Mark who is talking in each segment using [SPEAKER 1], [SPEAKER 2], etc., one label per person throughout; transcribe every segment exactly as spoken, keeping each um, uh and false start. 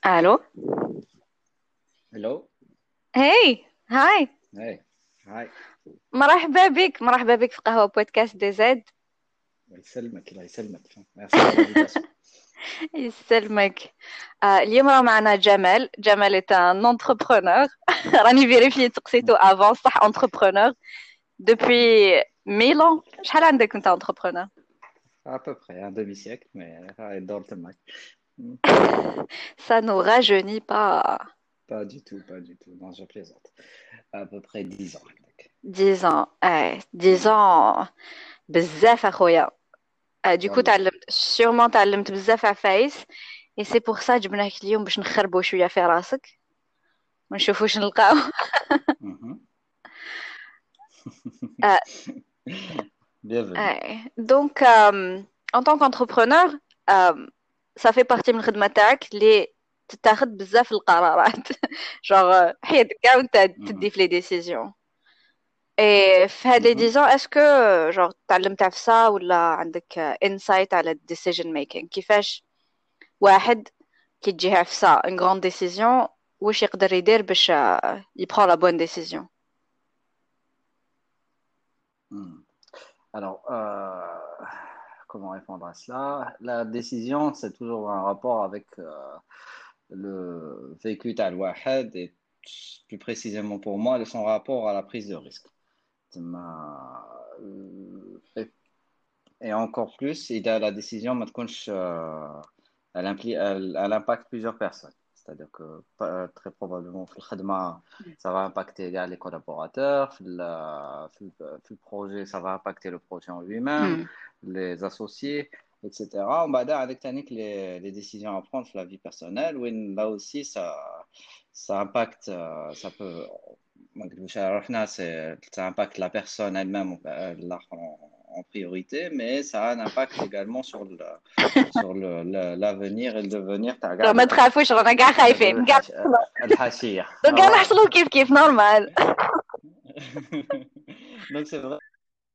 [SPEAKER 1] الو.
[SPEAKER 2] Hello.
[SPEAKER 1] هاي هاي.
[SPEAKER 2] Hey. Hi.
[SPEAKER 1] مرحبا بك مرحبا بك في قهوة بودكاست دي زد.
[SPEAKER 2] الله يسلمك الله يسلمك. Merci pour l'invitation.
[SPEAKER 1] يسلمك. آه اليوم راه معنا جمال. جمال est un entrepreneur. راني فيريفي تقسيتو افون صح entrepreneur depuis mille ans. شحال عندك انت entrepreneur؟
[SPEAKER 2] À peu près un demi-siècle, mais ah, دورت معك. Hmm.
[SPEAKER 1] Ça nous rajeunit pas.
[SPEAKER 2] Pas du tout, pas du tout. Non, je plaisante. À peu près dix ans. عندك.
[SPEAKER 1] dix ans. ايه dix
[SPEAKER 2] Hmm.
[SPEAKER 1] ans. بزاف اخويا. آه du coup
[SPEAKER 2] والله.
[SPEAKER 1] تعلمت sûrement تعلمت بزاف عفايس. et c'est pour ça جبناك اليوم باش نخربوا شوية في راسك ونشوفوا واش نلقاو.
[SPEAKER 2] Mhm.
[SPEAKER 1] آه
[SPEAKER 2] Bienvenue.
[SPEAKER 1] آه. donc euh, en tant qu'entrepreneur euh, ça fait partie من الخدمة تاعك اللي تتاخد بزاف القرارات. genre حياتك كاع وانت
[SPEAKER 2] Mhm.
[SPEAKER 1] تدي في لي décisions. et في هاد لي
[SPEAKER 2] Mhm.
[SPEAKER 1] ديزون اسكو genre تعلمت في ça ولا عندك insight على decision making كيفاش واحد كي تجيها في ça une grande décision واش يقدر يدير باش آه، يبرend la bonne décision.
[SPEAKER 2] Hmm. Alors, euh, comment répondre à cela? La décision, c'est toujours un rapport avec euh, le vécu تاع الواحد et plus précisément pour moi, son rapport à la prise de risque. Ma- Et et encore plus, il a la décision, ما تكونش, euh, elle, implie, elle, elle impacte plusieurs personnes. C'est-à-dire que pas- très probablement, في الخدمة, ça va impacter les les collaborateurs, في ال- في le في le projet, ça va impacter le projet en lui-même,
[SPEAKER 1] Hmm.
[SPEAKER 2] les associés, et cetera. بعد avec Tannick, les, les décisions à prendre sur la vie personnelle, où là aussi, ça, ça impacte, euh, ça peut, ما نكذبوش على روحنا, c'est- ça impacte la personne elle-même euh, là, en, en priorité, mais ça a un impact également sur le, sur le, le- l'avenir et le devenir تاع كاع
[SPEAKER 1] ما
[SPEAKER 2] ال-
[SPEAKER 1] تخافوش رانا كاع
[SPEAKER 2] هذو
[SPEAKER 1] خايفين كاع.
[SPEAKER 2] الحش... الحاشية.
[SPEAKER 1] كاع
[SPEAKER 2] Voilà.
[SPEAKER 1] نحصلوا كيف كيف نورمال.
[SPEAKER 2] Donc c'est vrai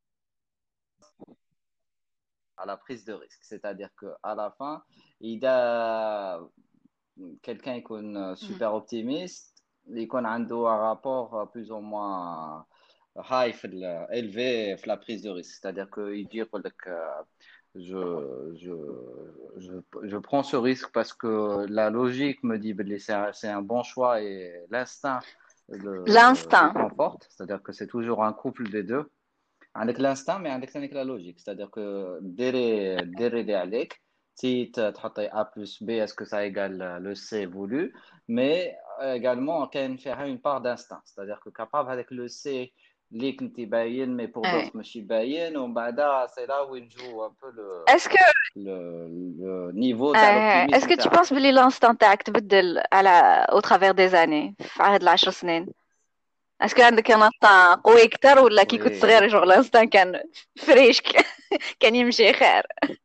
[SPEAKER 2] à la prise de risque, c'est-à-dire que à la fin, il a quelqu'un يكون super optimiste, يكون عنده un rapport plus ou moins high في ال- élevé في la prise de risque, c'est-à-dire que il dit يقول لك euh, je, je, je, je prends ce risque parce que la logique me dit que c'est un, c'est un bon choix et l'instinct le, le
[SPEAKER 1] l'instinct.
[SPEAKER 2] conforte, c'est-à-dire que c'est toujours un couple des deux. عندك l'instinct mais عندك ثاني la logique, c'est-à-dire que ديري ديري اللي عليك, si ت- تحطي A plus B, est-ce que ça égale le C voulu, mais également كاين فيها une part d'instinct, c'est-à-dire que capable avec le C اللي كنتي باين mais pour
[SPEAKER 1] Ouais.
[SPEAKER 2] d'autres ماشي باين, ومن بعدها c'est là où il joue un peu le,
[SPEAKER 1] est-ce que
[SPEAKER 2] le, le niveau تاع
[SPEAKER 1] آه، est-ce
[SPEAKER 2] l'optimisme
[SPEAKER 1] que tu
[SPEAKER 2] تاعك.
[SPEAKER 1] penses بلي l'instinct تاعك تبدل على au travers des années في عهد العشر سنين؟ est-ce que عندك un instinct قوي اكتر ولا كي كنت
[SPEAKER 2] Oui.
[SPEAKER 1] صغير genre l'instinct كان فريش كان يمشي خير؟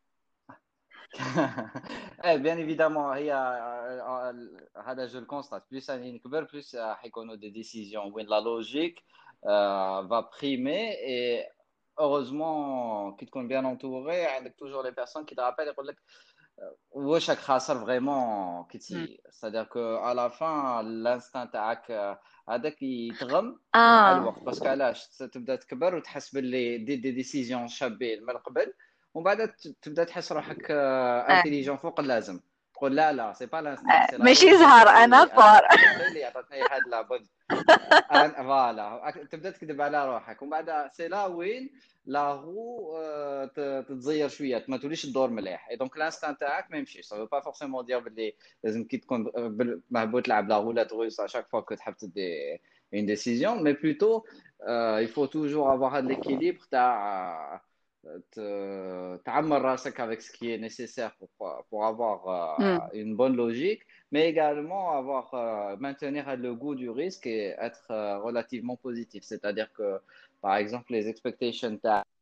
[SPEAKER 2] Eh, bien évidemment, هي آه، آه، هذا جو الكونستات, plus راني نكبر plus آه، حيكونوا des décisions وين la logique euh, va primer, et heureusement كي تكون bien entouré عندك toujours les personnes qui te rappellent يقول لك آه، واش راك خاسر vraiment كي
[SPEAKER 1] Hmm.
[SPEAKER 2] تصير, c'est-à-dire que à la fin l'instinct تاعك آه، هذاك يتغم مع
[SPEAKER 1] ah
[SPEAKER 2] الوقت, باسكو علاش تبدا تكبر وتحس باللي دي دي ديسيزيون شابين من قبل, ومن بعد ت- تبدا تحس روحك
[SPEAKER 1] آه.
[SPEAKER 2] انتيليجون فوق اللازم, تقول لا لا سي با لانستان,
[SPEAKER 1] آه.
[SPEAKER 2] سي لا
[SPEAKER 1] ماشي
[SPEAKER 2] لوجيك
[SPEAKER 1] زهر انا
[SPEAKER 2] اللي انا
[SPEAKER 1] فار.
[SPEAKER 2] ادابتي اللي عطاتني هاد لا بود. أنا- فوالا تبدا تكذب على روحك, ومن بعد سي لا وين لا رو آه، ت- تتزير شويه, ما توليش الدور مليح, اي دونك لانستان تاعك ما يمشيش. سا با فورسيمون دير باللي لازم كي تكون بال- مهبوط تلعب لا roulette russe à chaque fois que تحب تدي une décision, mais plutôt euh, il faut toujours avoir de l'équilibre تاع te- تعمر راسك avec ce qui est nécessaire pour, pour avoir
[SPEAKER 1] Hmm.
[SPEAKER 2] euh, une bonne logique, mais également avoir, euh, maintenir le goût du risque et être euh, relativement positif. C'est-à-dire que, par exemple, les expectations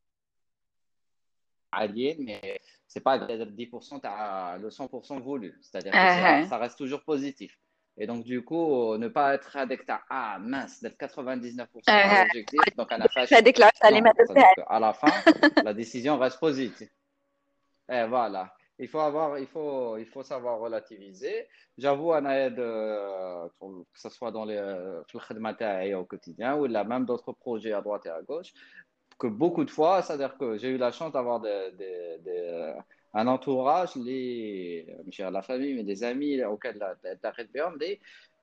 [SPEAKER 2] alliées, mais c'est pas dix pour cent à le cent pour cent voulu. C'est-à-dire que c'est,
[SPEAKER 1] آه.
[SPEAKER 2] ça reste toujours positif. Et donc, du coup, ne pas être addict à ah mince, d'être quatre-vingt-dix-neuf pour cent à
[SPEAKER 1] آه.
[SPEAKER 2] l'objectif, donc un fâché.
[SPEAKER 1] هذيك العفسه اللي
[SPEAKER 2] Non,
[SPEAKER 1] ما
[SPEAKER 2] c'est-à-dire
[SPEAKER 1] درتهاش.
[SPEAKER 2] qu'à la fin, la décision reste positive. Et voilà. il faut avoir, il faut, il faut savoir relativiser. J'avoue, أنا de, que ce soit dans les, في الخدمة تاعي au quotidien ou là même d'autres projets à droite et à gauche, que beaucoup de fois, c'est-à-dire que j'ai eu la chance d'avoir des, des, des, un entourage, les, je la famille, mais des amis auxquels tu as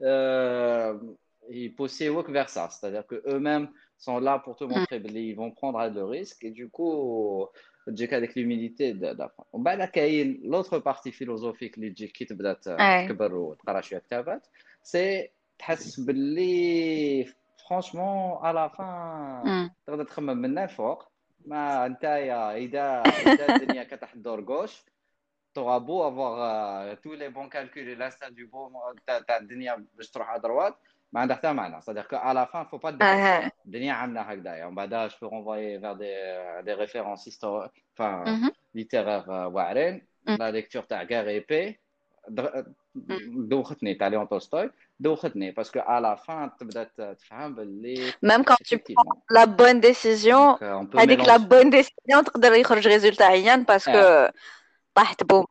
[SPEAKER 2] euh, ils poussent vers ça, c'est-à-dire que eux-mêmes sont là pour te
[SPEAKER 1] مم.
[SPEAKER 2] montrer qu'ils vont prendre le risque et du coup, تجيك هذيك l'humilité d'apprendre. ومن بعد كاين l'autre partie philosophique اللي تجيك كي تبدا
[SPEAKER 1] اي
[SPEAKER 2] تكبر وتقرا شويه كتابات سي تحس باللي فرانشمون على فان
[SPEAKER 1] مم.
[SPEAKER 2] تقدر تخمم من الفوق ما نتايا اذا اذا الدنيا كتحت دور غوش t'auras beau avoir euh, tous les bons calculs et l'instinct du beau تاع تاع الدنيا باش تروح à droite ما عندها حتى معنى c'est-à-dire qu'à la fin faut pas te décourager
[SPEAKER 1] اه
[SPEAKER 2] الدنيا عامله هكذايا ومن بعد je peux renvoyer vers des des références historiques enfin
[SPEAKER 1] مهم.
[SPEAKER 2] littéraires euh, واعرين
[SPEAKER 1] مم.
[SPEAKER 2] la lecture تاع Guerre et Paix در-
[SPEAKER 1] مم.
[SPEAKER 2] دوختني تاع ليون تولستوي دوختني parce que à la fin تبدا تفهم باللي
[SPEAKER 1] même quand tu prends
[SPEAKER 2] effectivement
[SPEAKER 1] la bonne décision
[SPEAKER 2] donc euh, on peut
[SPEAKER 1] هذيك la
[SPEAKER 2] mélanger
[SPEAKER 1] bonne décision تقدر يخرج résultat عيان parce
[SPEAKER 2] اه
[SPEAKER 1] que طاحت بوم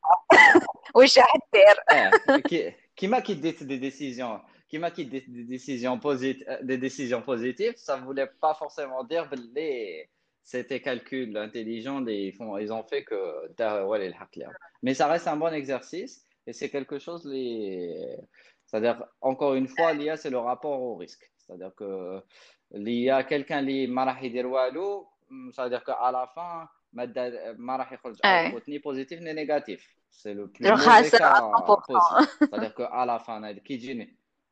[SPEAKER 1] واش راح دير
[SPEAKER 2] Eh, qui, qui m'a qui dit des décisions, qui m'a qui dit des décisions positives, des décisions positives, ça voulait pas forcément dire les, c'était calcul intelligent, ils font, ils ont fait que, t'as- ouais, les hacks, là. Mais ça reste un bon exercice et c'est quelque chose les, c'est-à-dire encore une fois, l'I A c'est le rapport au risque, c'est-à-dire que l'I A quelqu'un li ما راح يدير والو, c'est-à-dire qu'à la fin ما دا- ما راح يخرج
[SPEAKER 1] اي
[SPEAKER 2] output ni positif ni négatif. C'est le plus
[SPEAKER 1] جو
[SPEAKER 2] mauvais
[SPEAKER 1] خاسر à
[SPEAKER 2] cas possible.
[SPEAKER 1] cent pour cent
[SPEAKER 2] C'est-à-dire qu'à la fin, هذا كيجيني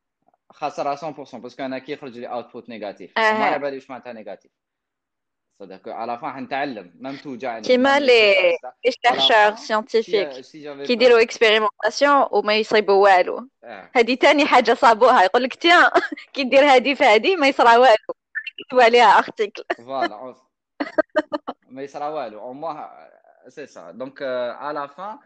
[SPEAKER 2] خسر à cent pour cent parce qu'أنا كيخرج لي output négatif وما على
[SPEAKER 1] اه
[SPEAKER 2] بالي واش معناتها négatif. C'est-à-dire qu'à la fin حنتعلم même توجعني
[SPEAKER 1] كيما
[SPEAKER 2] même نكتشف
[SPEAKER 1] les
[SPEAKER 2] et cetera.
[SPEAKER 1] les
[SPEAKER 2] À la
[SPEAKER 1] chercheurs
[SPEAKER 2] fin, si
[SPEAKER 1] scientifiques
[SPEAKER 2] si j'avais pas
[SPEAKER 1] كيديروا expérimentation وما يصيبوا والو
[SPEAKER 2] ah,
[SPEAKER 1] هذه تاني حاجة صابوها يقول لك تيان كي دير هذه في هذه ما يصرى والو يكتبوا عليها ارتيكل
[SPEAKER 2] voilà, on- mais il sera ouais, au moins c'est ça. Donc euh, à la fin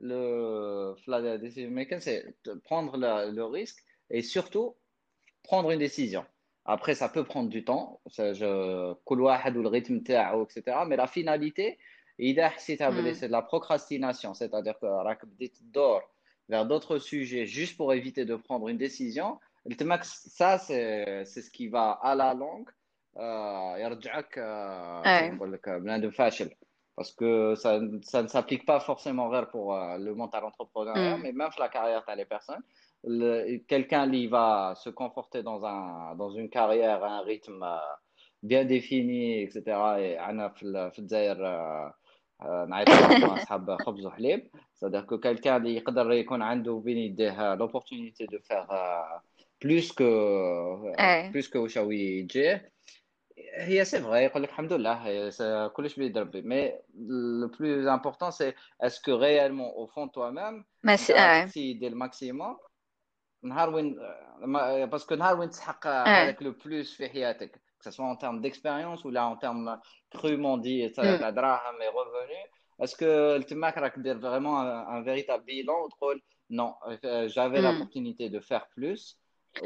[SPEAKER 2] le la decision making c'est de prendre le, le risque et surtout prendre une décision. Après, ça peut prendre du temps, ça, je, كل واحد والrythme تاعو, et cetera. Mais la finalité, إذا حسيتها بلي c'est de la procrastination, c'est-à-dire que راك بديت تدور vers d'autres sujets juste pour éviter de prendre une décision, تماك ça c'est c'est ce qui va à la longue euh, يرجعك euh, كيف
[SPEAKER 1] اي
[SPEAKER 2] نقول لك بنادم فاشل. Parce que ça, ça ne s'applique pas forcément vers pour euh, le monde à l'entrepreneuriat,
[SPEAKER 1] أمم.
[SPEAKER 2] mais même pour la carrière تاع les personnes. Le- quelqu'un qui va se conforter dans un dans une carrière à un rythme euh, bien défini et cetera et أنا في ال- في الجزائر آه، آه، نعيطوا كيما أصحاب خبز وحليب, c'est-à-dire que quelqu'un اللي يقدر يكون عنده بين يديه l'opportunité de faire euh, plus que euh,
[SPEAKER 1] اي
[SPEAKER 2] plus que واش هو يجيه. هي c'est vrai يقول لك الحمد لله هي- c'est- كلش بيد ربي, mais le plus important c'est est-ce que réellement au fond de toi-même
[SPEAKER 1] ما
[SPEAKER 2] انت
[SPEAKER 1] سي...
[SPEAKER 2] راك
[SPEAKER 1] اي
[SPEAKER 2] تسيي دير الماكسيموم نهار وين ما- باسكو نهار وين تسحق
[SPEAKER 1] اي
[SPEAKER 2] حالك لو بلوس في حياتك que ce soit en termes d'expérience ou là en termes crûment dit تاع
[SPEAKER 1] أمم.
[SPEAKER 2] تاع دراهم et revenus, est-ce que تماك راك دير vraiment un, un véritable bilan وتقول non euh, j'avais
[SPEAKER 1] أمم.
[SPEAKER 2] l'opportunité de faire plus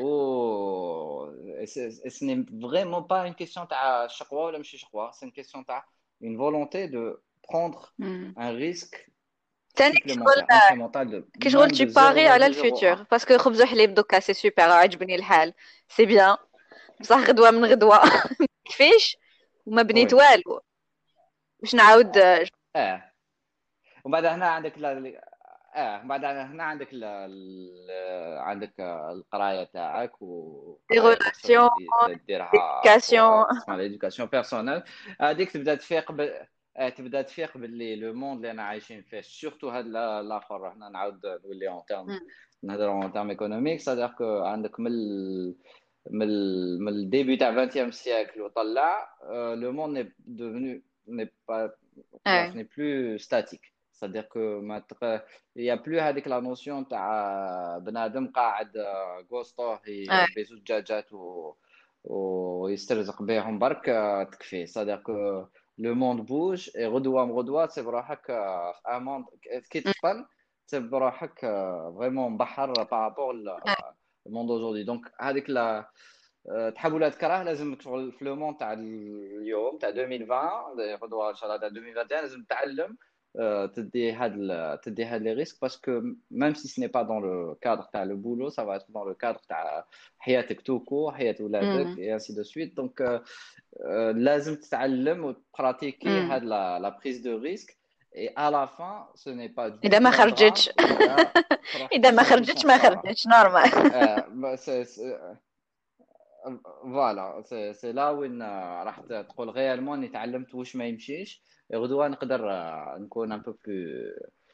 [SPEAKER 2] ou et c'est- et ce n'est vraiment pas une question تاع شقوة ولا ماشي شقوة, c'est une question تاع une volonté de prendre
[SPEAKER 1] أمم.
[SPEAKER 2] un risque
[SPEAKER 1] تاني
[SPEAKER 2] supplémentaire incrémental de
[SPEAKER 1] كي شغل
[SPEAKER 2] même
[SPEAKER 1] tu
[SPEAKER 2] de
[SPEAKER 1] paries على
[SPEAKER 2] zéro virgule zéro un.
[SPEAKER 1] الفيتور باسكو خبز وحليب دوكا سي سوبر عجبني الحال سي بيان بصح غدوه من غدوه كيفاش وما بنيت
[SPEAKER 2] Oui.
[SPEAKER 1] والو باش نعاود
[SPEAKER 2] اه وبعد هنا عندك لا اه بعد هنا عندك لا... ال- عندك القرايه تاعك
[SPEAKER 1] دي
[SPEAKER 2] وقرايه
[SPEAKER 1] ريلاسيون
[SPEAKER 2] بيرسونيل تبدا ديرها
[SPEAKER 1] ديديكاسيون
[SPEAKER 2] بور تسمى ليدوكاسيون بيرسونيل. هذيك تبدا تفيق ب... آه، تبدا تفيق باللي لو موند اللي انا عايشين فيه سورتو هاد لا- الاخر هنا نعاود نولي اون تيرم نهضروا اون تيرم ايكونوميك, سادير كو عندك من ال... من ال... من الديبي تاع vingtième سيكل وطلع لو موند ني devenu n'est pas ce
[SPEAKER 1] اي
[SPEAKER 2] n'est plus statique. C'est-à-dire que ما تق... il y a plus هذيك la notion تاع بنادم قاعد آه، قوسطوه
[SPEAKER 1] اي
[SPEAKER 2] يربي زوج دجاجات و... ويسترزق بهم برك آه، تكفي. C'est-à-dire que le monde bouge et غدوة غدوة تصيب روحك آه، في un monde كي تفطن تصيب روحك آه، vraiment مبحر par rapport au monde aujourd'hui. Donc هذيك la آه، تحب ولا تكره لازم شغل في لو مون تاع اليوم تاع ألفين وعشرين غدوه ان شاء الله تاع ألفين وواحد وعشرين لازم تتعلم euh, تدي هاد ال- تدي هاد les risques parce que même si ce n'est pas dans le cadre تاع le boulot, ça va être dans le cadre تاع حياتك tout court, حياة ولادك
[SPEAKER 1] مم.
[SPEAKER 2] et ainsi de suite. Donc euh, euh, لازم تتعلم وتبراتيكي
[SPEAKER 1] مم.
[SPEAKER 2] هاد la, la prise de risque et à la fin ce n'est pas du
[SPEAKER 1] اذا ما
[SPEAKER 2] tout un drame
[SPEAKER 1] خرجتش
[SPEAKER 2] إذا تروح
[SPEAKER 1] اذا ما
[SPEAKER 2] تخسر
[SPEAKER 1] خرجتش ما
[SPEAKER 2] الخسارة.
[SPEAKER 1] خرجتش نورمال.
[SPEAKER 2] آه bah, c'est- c'est- فوالا سي سي لا وين آه، راح ت- تقول غيالمون اني تعلمت واش ما يمشيش. غدوه نقدر آه، نكون ان بو بلو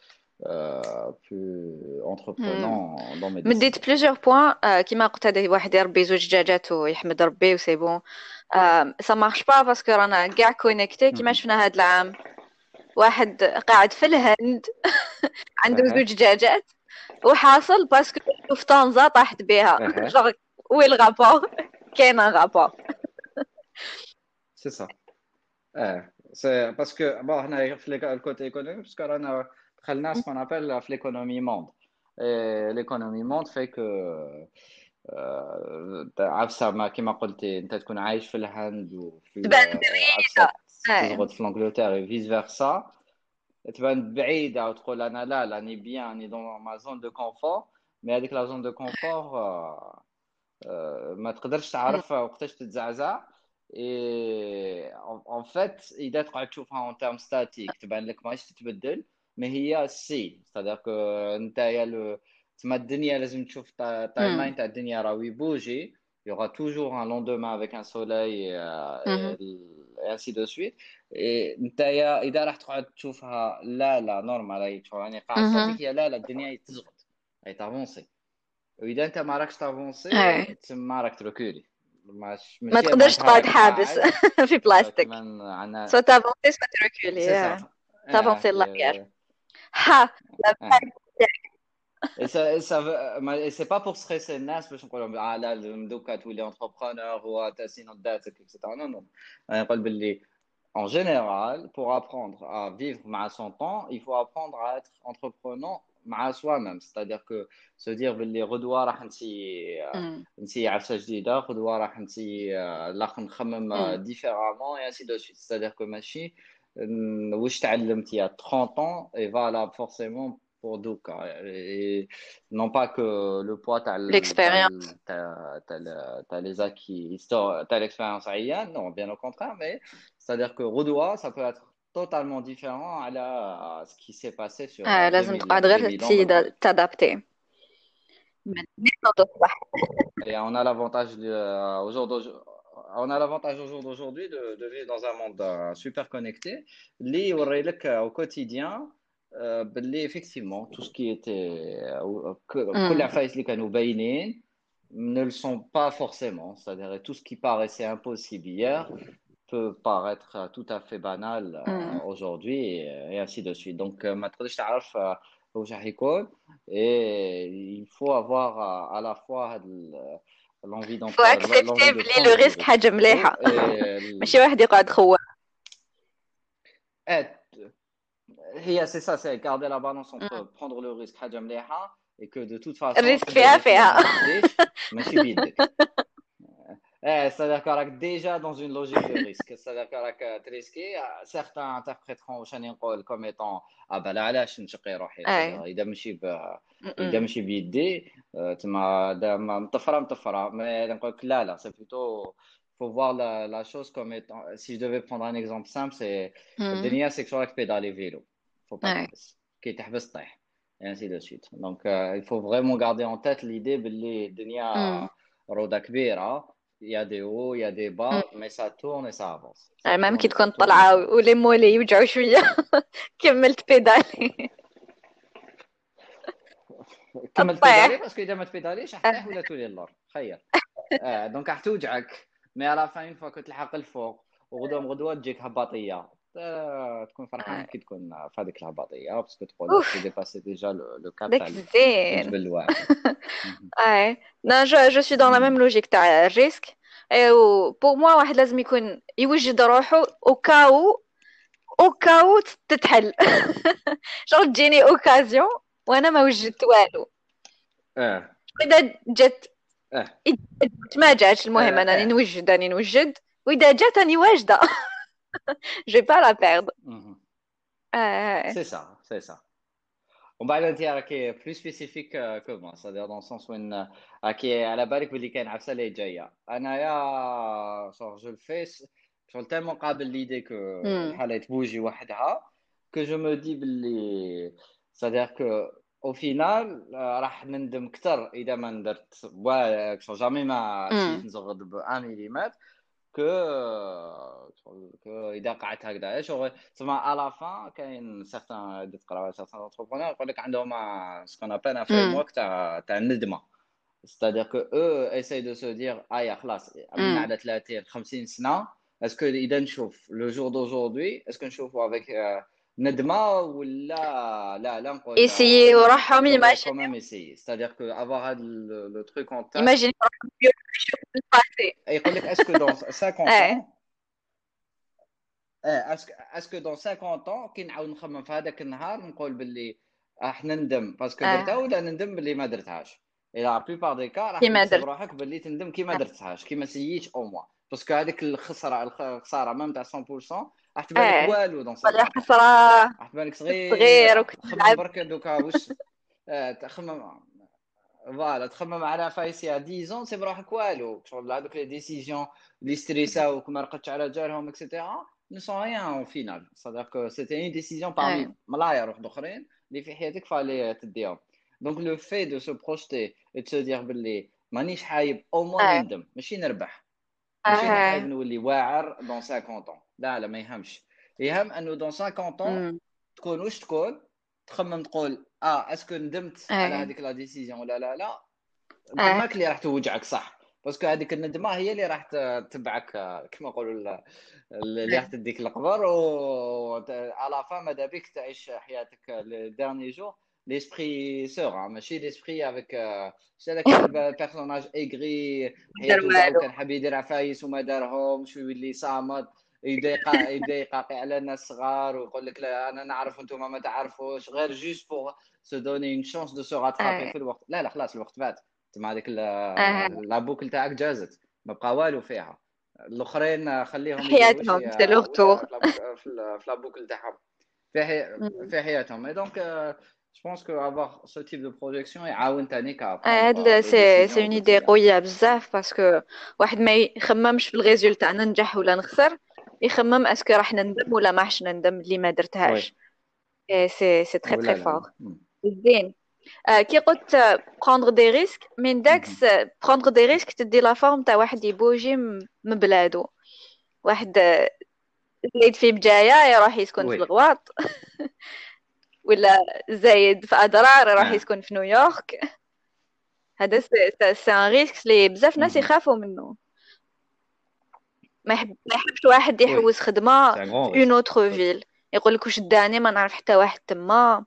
[SPEAKER 2] بلو انتربرونون دون مي
[SPEAKER 1] مديت
[SPEAKER 2] ديسيزيون.
[SPEAKER 1] بليزيور بوين كيما قلت هذا واحد يربي زوج دجاجات ويحمد ربي وسي بون. سا مارش با باسكو رانا كاع كونيكتي كيما شفنا هاد العام. واحد قاعد في الهند عنده
[SPEAKER 2] اها
[SPEAKER 1] زوج دجاجات وحاصل باسكو في طنجة طاحت بها.
[SPEAKER 2] اها
[SPEAKER 1] جونغ وي الغابور؟ كاين ان غابور.
[SPEAKER 2] سي سا. اه سي باسكو بون هنا في ليك- الكوتي ايكونومي باسكو رانا دخلنا سكون ابل في ليكونومي موند. ليكونومي موند في كو آه، عفسة ما كما قلتي انت تكون عايش في الهند وفي ال-
[SPEAKER 1] تبان
[SPEAKER 2] عفسة
[SPEAKER 1] بعيدة.
[SPEAKER 2] تزغد في لانجلتير فيس فيرسا. تبان بعيدة وتقول أنا لا راني بيان راني دون ما زون دو كونفور. مي هذيك لا زون دو كونفور ما تقدرش
[SPEAKER 1] اي.
[SPEAKER 2] تعرف وقتاش تتزعزع. اي ان فيت اذا تقعد تشوفها اون تيرم ستاتيك تبان لك ماهيش تتبدل. ما هي سي ستادير كو انت يا لو تما الدنيا لازم تشوف تايم لاين تاع الدنيا راهو يبوجي. Il y aura toujours un lendemain avec un soleil et, et ainsi de suite. إيه، انت يا اذا راح تقعد تشوفها لا لا نورمال هي تشوف يعني قاعه ستاتيك هي لا لا الدنيا تزغط هي تافونسي. واذا انت ما راكش تافونسي تسمى راك تركولي. مش
[SPEAKER 1] ما
[SPEAKER 2] ماشي
[SPEAKER 1] تقدرش
[SPEAKER 2] معناتها
[SPEAKER 1] تقعد
[SPEAKER 2] راك
[SPEAKER 1] حابس
[SPEAKER 2] قاعد
[SPEAKER 1] في
[SPEAKER 2] آه،
[SPEAKER 1] بلاستيك.
[SPEAKER 2] كيما عنا.
[SPEAKER 1] سو تافونسي سو
[SPEAKER 2] سي
[SPEAKER 1] تركولي.
[SPEAKER 2] سا. اه
[SPEAKER 1] تافونسي
[SPEAKER 2] كي-
[SPEAKER 1] لاريير. ها لا
[SPEAKER 2] اه et ça, et ça veut- ما- et c'est pas pour stresser الناس باش نقولوا اه لا لازم دوكا تولي انتربرونور هو تاسين داتك اكسترا. نو نو انا نقول باللي en général, pour apprendre à vivre مع son temps, il faut apprendre à être entreprenant مع soi-même. C'est-à-dire que se dire باللي غدوة راح نسي نسي عفسة جديدة، غدوة راح نسي لاخ نخمم différemment et ainsi de suite. C'est-à-dire que ماشي ن- واش تعلمت il y a trente ans est valable forcément pour دوكا. Et non pas que le poids t'as le- t'as
[SPEAKER 1] l'expérience.
[SPEAKER 2] le- t'as- t'as le- t'as les acquis histor- t'as l'expérience عيان. Non, bien au contraire, mais c'est-à-dire que Rodois, ça peut être totalement différent à, la, à ce qui s'est passé sur
[SPEAKER 1] آه
[SPEAKER 2] euh,
[SPEAKER 1] لازم تقعد غير
[SPEAKER 2] deux mille ans de
[SPEAKER 1] تسيد
[SPEAKER 2] plus.
[SPEAKER 1] تادابتي من نيت تصبح.
[SPEAKER 2] Et on a l'avantage de- euh, au jour d'aujourd'hui- on a l'avantage au jour d'aujourd'hui de, de vivre dans un monde euh, super connecté. Li يوريلك au quotidien euh, باللي effectivement tout ce qui était euh, que- كل العفايس اللي كانوا باينين ne le sont pas forcément. C'est-à-dire tout ce qui paraissait impossible hier peut paraître tout à fait banal euh, aujourd'hui et, et ainsi de suite. Donc, euh, ما تقدرش تعرف euh, واش راح يكون. Et il faut avoir à, à la fois هاد ال- l'envie
[SPEAKER 1] فو
[SPEAKER 2] d'entre-
[SPEAKER 1] اكسبتي
[SPEAKER 2] l'envie de
[SPEAKER 1] بلي لو
[SPEAKER 2] prendre du
[SPEAKER 1] ريسك
[SPEAKER 2] risque
[SPEAKER 1] حاجة
[SPEAKER 2] plutôt.
[SPEAKER 1] مليحة.
[SPEAKER 2] Et l-
[SPEAKER 1] ماشي واحد يقعد خوار.
[SPEAKER 2] être- هي c'est ça, c'est garder la balance entre prendre le risque حاجة مليحة et que de toute façon
[SPEAKER 1] الريسك
[SPEAKER 2] تبدا
[SPEAKER 1] فيها
[SPEAKER 2] ديك
[SPEAKER 1] فيها.
[SPEAKER 2] ما تديش ماشي بيدك. Eh, c'est-à-dire que راك déjà dans une logique de risque. C'est-à-dire que راك تريسكي. Certains interpréteront واش راني نقول comme étant ah bah لا علاش نشقي روحي.
[SPEAKER 1] اي.
[SPEAKER 2] C'est-à-dire إذا ماشي ب... إذا ماشي بيدي آه، تما دا- ما- مطفرة مطفرة. Mais نقول لك لا لا c'est plutôt faut voir la, la chose comme étant si je devais prendre un exemple simple c'est الدنيا c'est que راك pédaler vélo. Faut pas
[SPEAKER 1] اي.
[SPEAKER 2] تحبس كي تحبس طيح et ainsi de suite. Donc euh, il faut vraiment garder en tête l'idée باللي الدنيا روضة كبيرة. Il y a des hauts, il y a des bas, mais ça tourne et ça avance. Ça
[SPEAKER 1] ميم
[SPEAKER 2] tourne
[SPEAKER 1] كي
[SPEAKER 2] et ça
[SPEAKER 1] تكون
[SPEAKER 2] tourne et
[SPEAKER 1] طالعة
[SPEAKER 2] ça avance.
[SPEAKER 1] ولي مولي يوجعوا شوية كملت بيدالي.
[SPEAKER 2] كملت بيدالي
[SPEAKER 1] الطيح.
[SPEAKER 2] باسكو اذا ما تبيداليش راح تطيح ولا تولي للور. تخيل. اه دونك راح توجعك. مي على فان فوا كنت تلحق الفوق وغدوه غدوه تجيك هباطيه. آه، تكون فرحان كي تكون في هذيك الهباطيه باسكو تقول
[SPEAKER 1] اوف
[SPEAKER 2] جي ديباسي ديجا لو كاب تاع
[SPEAKER 1] داك زين.
[SPEAKER 2] الجبل الواعر.
[SPEAKER 1] اي. نا جو جو سوي دون لا ميم لوجيك تاع الريسك. او بور موا واحد لازم يكون يوجد روحه او كاو او كاو تتحل. شغل تجيني اوكازيون وانا ما وجدت والو.
[SPEAKER 2] اه
[SPEAKER 1] اذا جات
[SPEAKER 2] اه
[SPEAKER 1] إذا جات ما جاتش
[SPEAKER 2] اه
[SPEAKER 1] المهم انني
[SPEAKER 2] اه
[SPEAKER 1] نوجد راني نوجد. واذا جات راني واجده. جو با لا بيرد.
[SPEAKER 2] مهم.
[SPEAKER 1] آه.
[SPEAKER 2] C'est ça, c'est ça. ومن بعد انت راكي بلو سبيسيفيك كو سادير دون سونس وين راكي على بالك باللي كاين عفسه اللي جايه انايا شغل جو الفيس شغل تالمون قابل ليدي كو
[SPEAKER 1] مم.
[SPEAKER 2] الحاله تبوجي وحدها كو جو مو دي باللي سادير كو او فينال راح نندم كثر اذا ما درت وا شغل جامي ما سيت
[SPEAKER 1] مم.
[SPEAKER 2] نزغد ب واحد مليمتر que que اذا قعدت هكذا شغل تسمى على فان كاين سيغتان اللي تقراو سيغتان انتربرونور يقول لك عندهم سكون ابان ان فريم
[SPEAKER 1] مم.
[SPEAKER 2] ورك تاع تاع الندمه c'est-à-dire que eux essayent de se dire ah يا خلاص عملنا
[SPEAKER 1] مم.
[SPEAKER 2] على ثلاثين خمسين سنه اسكو اذا نشوف لو جور دوجوردي اسكو نشوفوا افيك ندمه ولا لا لا نقول
[SPEAKER 1] Essayer وراحهم
[SPEAKER 2] j'aurais quand
[SPEAKER 1] imaginer
[SPEAKER 2] même essayé c'est-à-dire que avoir le, le truc en tête
[SPEAKER 1] imaginer وراحهم يشوفوا الباسي.
[SPEAKER 2] يقول لك اسكو dans cinquante
[SPEAKER 1] اه.
[SPEAKER 2] ans اه اسكو اسكو دون خمسين طون كي نعاود نخمم في هذاك النهار نقول باللي راح نندم باسكو درتها
[SPEAKER 1] اه.
[SPEAKER 2] ولا نندم باللي ما درتهاش الى لا بليبار دي كا راح
[SPEAKER 1] كيما
[SPEAKER 2] تحسب
[SPEAKER 1] درت.
[SPEAKER 2] روحك باللي تندم كي ما
[SPEAKER 1] اه.
[SPEAKER 2] درتهاش كي ما سييتش او موا باسكو هذيك الخساره الخساره ميم تاع مية بالمية راح تبان لك
[SPEAKER 1] اه.
[SPEAKER 2] والو دون
[SPEAKER 1] ولا
[SPEAKER 2] خمسين طون
[SPEAKER 1] حسرة،
[SPEAKER 2] راح تبان لك
[SPEAKER 1] كنت صغير
[SPEAKER 2] صغيره
[SPEAKER 1] وكنت
[SPEAKER 2] خمم
[SPEAKER 1] نلعب.
[SPEAKER 2] برك دوكا واش اه تخمم فوالا تخمم على فايسي عشرة زون سي بروحك والو شغل هذوك لي ديسيزيون لي ستريساوك ما رقدتش على جالهم اكسيتيرا ne sont rien au final. C'est-à-dire que c'était une décision parmi
[SPEAKER 1] اه.
[SPEAKER 2] ملاير واحد اخرين اللي في حياتك فالي تديهم. Donc le fait de se projeter et de se dire باللي مانيش حايب او موا
[SPEAKER 1] اه.
[SPEAKER 2] نندم ماشي نربح ماشي نحايب
[SPEAKER 1] اه.
[SPEAKER 2] نولي واعر دون خمسين طون لا لا ما يهمش يهم انه دون خمسين طون
[SPEAKER 1] مم.
[SPEAKER 2] تكون واش تكون تخمم تقول اه اسكو ندمت على
[SPEAKER 1] اه.
[SPEAKER 2] هذيك لا ديسيزيون ولا لا لا
[SPEAKER 1] اه.
[SPEAKER 2] تماك اللي راح توجعك صح باسكو هذيك الندمه هي اللي راح تتبعك كما نقولوا اللي راح تديك القبر و على فا ماذا بك تعيش حياتك لديرني جور ليسبري سور ماشي ليسبري افيك شي هذاك البيرسوناج ايغري
[SPEAKER 1] دار
[SPEAKER 2] حياته كاع
[SPEAKER 1] والو.
[SPEAKER 2] وكان حاب يدير عفايس وما دارهمش ويولي صامد يبدا يقا يبدا يقاقي على الناس صغار ويقول لك لا انا نعرف وانتم ما تعرفوش غير جوست بور سو دوني اون شانس دو سو راترابي
[SPEAKER 1] اه.
[SPEAKER 2] في الوقت لا لا خلاص الوقت فات تما هذيك
[SPEAKER 1] اه.
[SPEAKER 2] لا بوكل تاعك جازت ما بقى والو فيها الاخرين خليهم يديروا
[SPEAKER 1] حياتهم
[SPEAKER 2] شي
[SPEAKER 1] سي لوغ
[SPEAKER 2] ولا
[SPEAKER 1] تور.
[SPEAKER 2] في لابوك في ال- في لابوكل تاعهم في حي... في حياتهم اي دونك جو بونس كو افوار سو تيب دو بروجيكسيون يعاون تاني كا
[SPEAKER 1] هاد
[SPEAKER 2] بروندر لي
[SPEAKER 1] سي سي
[SPEAKER 2] ديسيزيون
[SPEAKER 1] اون
[SPEAKER 2] او
[SPEAKER 1] ايدي
[SPEAKER 2] كوتيديان
[SPEAKER 1] قويه بزاف باسكو واحد ما يخممش في الريزولتا ننجح ولا نخسر، يخمم اسكو راح نندم ولا ما راحش نندم اللي ما
[SPEAKER 2] وي
[SPEAKER 1] درتهاش. إيه سي سي تري تري
[SPEAKER 2] ولا لا
[SPEAKER 1] فور.
[SPEAKER 2] مم.
[SPEAKER 1] زين. آه كي قلت بروندر دي ريسك من
[SPEAKER 2] مهم.
[SPEAKER 1] داكس، بروندر دي ريسك تدي لا فورم تاع واحد يبوجي م- من بلادو، واحد آه، زايد في بجاية يروح يسكن في
[SPEAKER 2] وي
[SPEAKER 1] الغواط ولا زايد في أضرار يروح
[SPEAKER 2] اه
[SPEAKER 1] يسكن في نيويورك. هذا سي سي ان ريسك اللي بزاف ناس
[SPEAKER 2] مهم.
[SPEAKER 1] يخافوا منه. ما يحب ما يحبش واحد
[SPEAKER 2] وي
[SPEAKER 1] يحوس خدمة
[SPEAKER 2] سي ان غون
[SPEAKER 1] في اون
[SPEAKER 2] ريسك
[SPEAKER 1] اوتر فيل، يقول لك واش داني ما نعرف حتى واحد تما.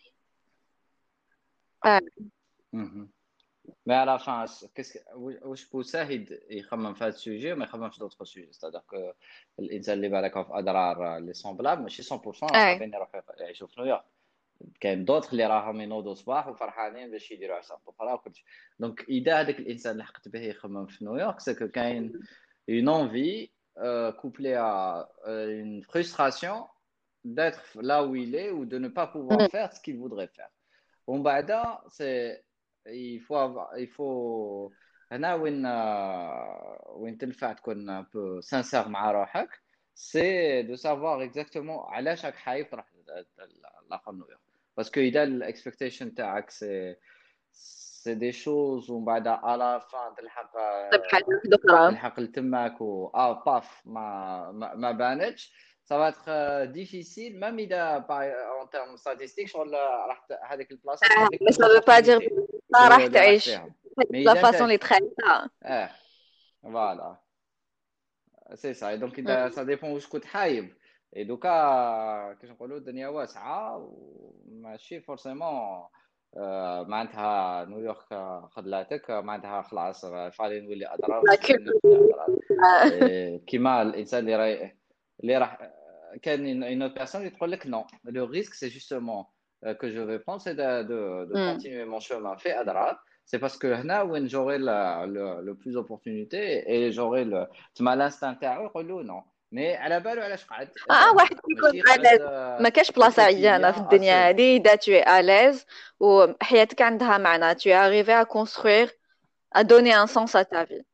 [SPEAKER 1] آه.
[SPEAKER 2] مي على فان كيس واش بوساه يد- يخمم في هذا السوجي وما يخممش دوطخ سوجي ستادير كو الانسان اللي بالك في اضرار لي سومبلاب ماشي مية بالمية
[SPEAKER 1] اي.
[SPEAKER 2] حابين يروحوا يعيشوا في نيويورك كاين دوطخ اللي راهم ينوضوا صباح وفرحانين باش يديروا عصام اخرى وكلشي دونك اذا هذاك الانسان اللي حقت به يخمم في نيويورك سكو كاين اون انفي couplée à euh, une frustration d'être là où il est ou de ne pas pouvoir
[SPEAKER 1] مم.
[SPEAKER 2] faire ce qu'il voudrait faire. ومن بعد c'est il faut avoir, il faut هنا وين آه، وين تنفع تكون ان بو سانسير مع روحك سي دو سافوار اكزاكتومون علاش راك حايب تروح لاخر نيويورك باسكو اذا الاكسبكتيشن تاعك سي سي دي شوز ومن بعد على فان تلحق
[SPEAKER 1] طيب حاجة
[SPEAKER 2] آه،
[SPEAKER 1] واحدة أخرى.
[SPEAKER 2] تلحق لتماك و اه باف ما ما, ما بانتش ça va être euh, difficile même اذا باي- en termes statistiques شغل راح ت- هذيك البلاصه
[SPEAKER 1] آه.
[SPEAKER 2] تجيب لك
[SPEAKER 1] بس
[SPEAKER 2] بلوس
[SPEAKER 1] ça veut pas dire
[SPEAKER 2] دوبورتينيتي
[SPEAKER 1] ما
[SPEAKER 2] اللي
[SPEAKER 1] راح
[SPEAKER 2] اللي راك
[SPEAKER 1] تعيش
[SPEAKER 2] فيهم مي
[SPEAKER 1] لا
[SPEAKER 2] اذا
[SPEAKER 1] فاصون
[SPEAKER 2] انت
[SPEAKER 1] اللي تخيلها.
[SPEAKER 2] اه فوالا سي سا دونك اذا
[SPEAKER 1] مم.
[SPEAKER 2] سا ديبون واش كنت حايب اي دوكا كيش نقولوا الدنيا واسعه وماشي فورسيمون آه معناتها نيويورك آه، خذلاتك آه، معناتها خلاص آه، فالي نولي اضرار
[SPEAKER 1] لا
[SPEAKER 2] ماشي فالي نولي
[SPEAKER 1] كيلو.
[SPEAKER 2] اضرار إيه، كيما الانسان اللي راي اللي راح كان une autre personne qui تقول لك non le risque c'est justement euh, que je vais prendre c'est de, de, de continuer mon chemin fait أضرار c'est parce que هنا وين j'aurai la, le, le plus d'opportunités et j'aurai le تما l'instinct تاعو يقول له non مي على بالو علاش قعد
[SPEAKER 1] اه
[SPEAKER 2] هذا
[SPEAKER 1] واحد
[SPEAKER 2] هو
[SPEAKER 1] يكون
[SPEAKER 2] ماشي قعد
[SPEAKER 1] ألاز، ما كاش
[SPEAKER 2] او
[SPEAKER 1] بلاصة عيانة في
[SPEAKER 2] كوتيديان
[SPEAKER 1] الدنيا
[SPEAKER 2] اسيل.
[SPEAKER 1] هذه. إذا tu es à l'aise وحياتك عندها معنى، tu es arrivé à construire, à donner un sens à ta vie.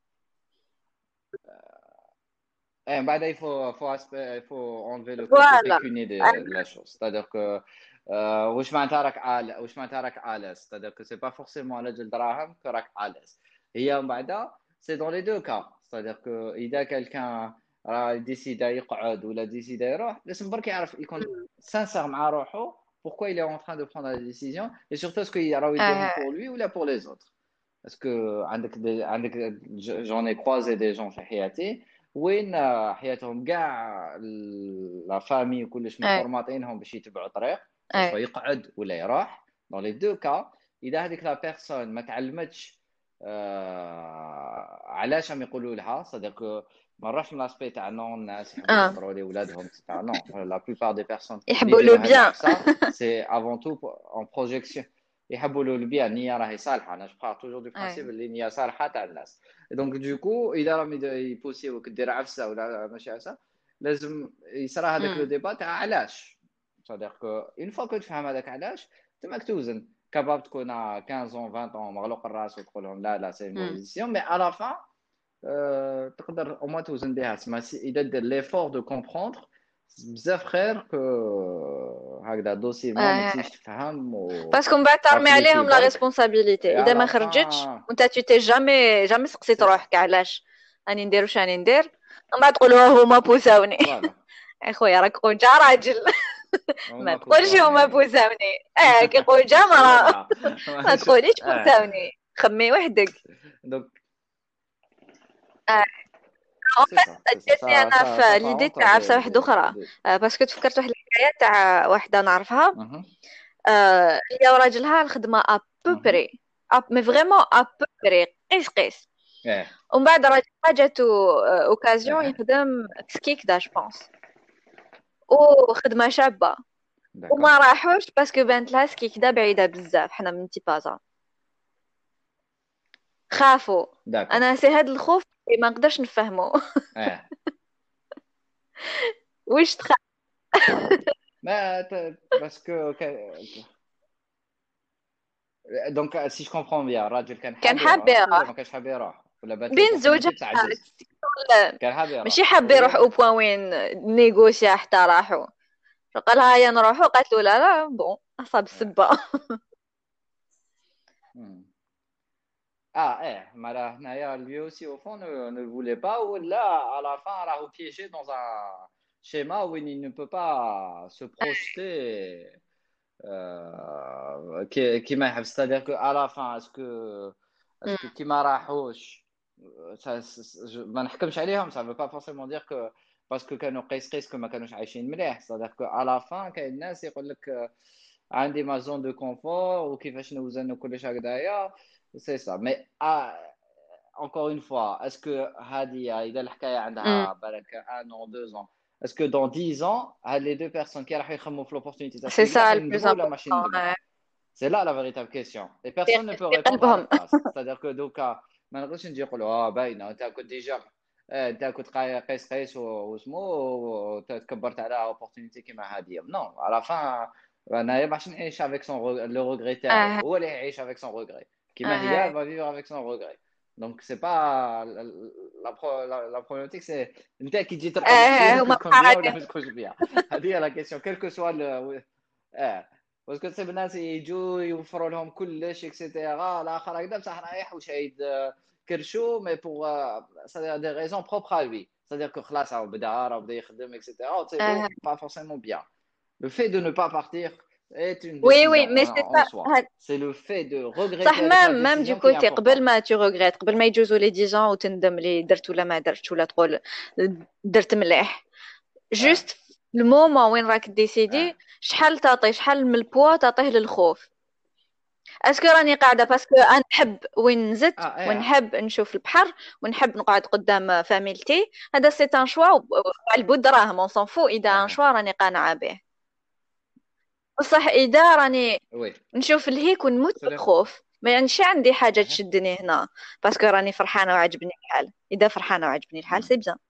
[SPEAKER 2] Eh, bah, il faut, faut, aspe- il faut enlever le côté
[SPEAKER 1] Voilà.
[SPEAKER 2] pécunier de, de la chose. C'est-à-dire que euh, وش معناتها راك عال وش معناتها راك à l'aise. C'est-à-dire que c'est pas forcément على جال دراهم que راك à l'aise. هي من بعدها c'est dans les deux cas. C'est-à-dire que إذا quelqu'un راه ديسيدا يقعد ولا ديسيدا يروح لازم برك يعرف يكون sincère مع روحه pourquoi il est en train de prendre la décision et surtout est-ce qu'il راهو يديرهم
[SPEAKER 1] آه.
[SPEAKER 2] pour lui ou là pour les autres. Parce que عندك des- عندك j'en ai croisé des gens في حياتي وين آه، حياتهم كاع لا فامي وكلش
[SPEAKER 1] آه.
[SPEAKER 2] مفورماتينهم باش يتبعوا طريق
[SPEAKER 1] آه.
[SPEAKER 2] سواء يقعد ولا يروح. دون لي دو كا اذا هذيك لا بيرسون ما تعلمتش آه علاش راهم يقولوا لها صدق ما نروحش من لاسبي تاع نو الناس يحبوا
[SPEAKER 1] آه.
[SPEAKER 2] يخطروا لي ولادهم تاع نو لا بلوبار دي بيرسون اللي
[SPEAKER 1] يحبوا له
[SPEAKER 2] يديروا هاد
[SPEAKER 1] بيان.
[SPEAKER 2] العفسه سي افون تو اون بروجيكسيون يحبوا له البيان النيه راهي صالحه. انا جو بار توجور دو برانسيب اللي النيه صالحه تاع الناس. دونك دوكو اذا راهم يبوسيوك دير عفسه ولا ماشي عفسه لازم يصرى هذاك لو ديبا تاع علاش. صديق اون فوا كو تفهم هذاك علاش تماك توزن كاباب تكون خمسطاش اون عشرين اون مغلوق الراس وتقول لهم لا لا سي مو ديسيون مي على فان تقدر او ما توزن بها. تسمى اذا دير ليفور دو كومبروندر بزاف خير كو هكذا دوسيمون ما تسيش تفهم و
[SPEAKER 1] باسكو من بعد ترمي عليهم لا
[SPEAKER 2] برك
[SPEAKER 1] ريسبونسابيلتي. اذا ما
[SPEAKER 2] على
[SPEAKER 1] خرجتش
[SPEAKER 2] فان
[SPEAKER 1] وانت tu t'es جامي جامي سقسيت
[SPEAKER 2] سي سا
[SPEAKER 1] روحك علاش راني ندير واش راني ندير، من بعد تقول ها هما بوساوني.
[SPEAKER 2] فوالا
[SPEAKER 1] اخويا راك خوجا راجل. ما
[SPEAKER 2] هما
[SPEAKER 1] تقولش هما
[SPEAKER 2] بوساوني
[SPEAKER 1] بوساوني، اه كي خوجا مرا.
[SPEAKER 2] ولدنا
[SPEAKER 1] ما تقوليش
[SPEAKER 2] اه
[SPEAKER 1] بوساوني، خمي وحدك.
[SPEAKER 2] دونك
[SPEAKER 1] آه.
[SPEAKER 2] سي سا سي سا
[SPEAKER 1] جاتني
[SPEAKER 2] سا
[SPEAKER 1] انا
[SPEAKER 2] سا سا
[SPEAKER 1] في ليدي
[SPEAKER 2] فارونتا
[SPEAKER 1] تاع عفسه
[SPEAKER 2] دي
[SPEAKER 1] واحده
[SPEAKER 2] دي
[SPEAKER 1] اخرى.
[SPEAKER 2] دي
[SPEAKER 1] آه، باسكو تفكرت واحد الحكايه تاع واحده نعرفها.
[SPEAKER 2] اها
[SPEAKER 1] آه، هي وراجلها الخدمه
[SPEAKER 2] اها
[SPEAKER 1] ابوبري اب مي فريمون ابوبري قيس قيس.
[SPEAKER 2] اه
[SPEAKER 1] ومن بعد راجلها جاتو اوكازيون
[SPEAKER 2] اه
[SPEAKER 1] يخدم سكيك دا جوبونس، وخدمه شابه.
[SPEAKER 2] داكور
[SPEAKER 1] وما راحوش باسكو بانت لها سكيك دا بعيده بزاف، حنا من تيبازا خافوا.
[SPEAKER 2] داكور
[SPEAKER 1] انا سي هاد الخوف اللي ما نقدرش نفهمه.
[SPEAKER 2] اه
[SPEAKER 1] واش تخاف؟
[SPEAKER 2] ما باسكو دونك سي جو كومبرون بيان الراجل كان
[SPEAKER 1] كان
[SPEAKER 2] حاب
[SPEAKER 1] حاب
[SPEAKER 2] يروح ولا
[SPEAKER 1] يروح
[SPEAKER 2] ما كانش حاب يروح ولا بانت
[SPEAKER 1] بين زوجها.
[SPEAKER 2] لوبورتونيتي بتعجز. كان حاب
[SPEAKER 1] ماشي
[SPEAKER 2] يروح
[SPEAKER 1] حاب يروح
[SPEAKER 2] وهي
[SPEAKER 1] او بوان وين نيغوسيا حتى راحوا. فقال لها هيا نروحوا، قالت له لا لا بون اصاب
[SPEAKER 2] اه
[SPEAKER 1] السبه.
[SPEAKER 2] مم. Ah, eh, mais là, Naya, lui aussi, au fond, ne, ne le voulait pas, ou là, à la fin, elle a piégé dans un schéma où il ne peut pas se projeter, euh, qui, qui m'a- c'est-à-dire qu'à la fin, est-ce que, est-ce que qui m'a راحوش, euh, ça, ça- je- ما نحكمش عليهم, ça veut pas forcément dire que parce que كانوا قيس قيس que ما كانوش عايشين مليح. c'est-à-dire qu'à la fin كاين الناس يقول لك آه، عندي ما زون دو كونفور وكيفاش نوزن وكلش هكذايا. سي سا مي encore une fois est-ce que هذه اذا الحكايه عندها بالك un an deux ans est-ce que dans dix ans هاد les deux personnes qui راح يخمموا في l'opportunité تاع
[SPEAKER 1] سي
[SPEAKER 2] السكيك
[SPEAKER 1] سا
[SPEAKER 2] راح
[SPEAKER 1] لو بلوز
[SPEAKER 2] يندموا ولا ماشي يندموا.
[SPEAKER 1] امبورطون.
[SPEAKER 2] C'est là la véritable question. Et personne ne peut
[SPEAKER 1] في
[SPEAKER 2] répondre à
[SPEAKER 1] قلبهم.
[SPEAKER 2] leur place. C'est-à-dire que دوكا ما نقدرش نجي نقولوا اه باينه انت كنت ديجا آه، انت كنت قا- قيس قيس و- واسمو وتكبرت على اوبورتونيتي كيما هذه. نو على فان انا باش نعيش افيك سون لو ريغري تاعي
[SPEAKER 1] اه
[SPEAKER 2] هو اللي يعيش افيك سون ريغري كيما هي
[SPEAKER 1] اه
[SPEAKER 2] va vivre avec son regret. Donc c'est pas la pro- la la problématique c'est انت كي تجي تلقى
[SPEAKER 1] اه
[SPEAKER 2] مخيرك
[SPEAKER 1] هما
[SPEAKER 2] تكون بها ولا
[SPEAKER 1] بحالي.
[SPEAKER 2] ما تكونش بها. هذه هي لا كيسيون كيل كو سوا اه باسكو تصيب الناس يجوا يوفروا لهم كلش اكسيتيرا الاخر هكذا بصح رايح وشايد آه، كرشو مي بوغ سادير دي ريزون بروبر ا لوي. سادير كو خلاص راه بدا راه بدا يخدم اكسيتيرا وتصيبو
[SPEAKER 1] اه
[SPEAKER 2] با فورسيمون بيان. Le fait de ne pas partir est une
[SPEAKER 1] وي
[SPEAKER 2] décision
[SPEAKER 1] وي مي
[SPEAKER 2] en,
[SPEAKER 1] سي
[SPEAKER 2] en
[SPEAKER 1] سا.
[SPEAKER 2] soi. C'est le fait de
[SPEAKER 1] صح،
[SPEAKER 2] regretter avec
[SPEAKER 1] مام
[SPEAKER 2] la
[SPEAKER 1] مام دو
[SPEAKER 2] décision qui est
[SPEAKER 1] كوتي قبل
[SPEAKER 2] importante.
[SPEAKER 1] ما تو ريغريت، قبل ما يجوزوا لي ديجون وتندم لي درت ولا ما درتش، ولا تقول درت مليح.
[SPEAKER 2] اه
[SPEAKER 1] جوست المومون وين راك
[SPEAKER 2] اه
[SPEAKER 1] ديسيدي شحال تعطي، شحال من البوا تعطيه للخوف. اسكو راني قاعده باسكو انا نحب وين نزت
[SPEAKER 2] اه اه
[SPEAKER 1] ونحب نشوف البحر ونحب نقعد قدام فاميلتي، هذا سي ان شوا على البود دراهم اون سون فو. اذا ان
[SPEAKER 2] اه
[SPEAKER 1] شوا راني قانعه به. بصح اذا راني
[SPEAKER 2] وي
[SPEAKER 1] نشوف الهيك ونموت
[SPEAKER 2] c'est-à-dire
[SPEAKER 1] بالخوف، ما يعنيش عندي حاجه
[SPEAKER 2] اه
[SPEAKER 1] تشدني هنا. باسكو راني فرحانه وعجبني الحال. اذا فرحانه وعجبني الحال
[SPEAKER 2] مم.
[SPEAKER 1] سي بزان.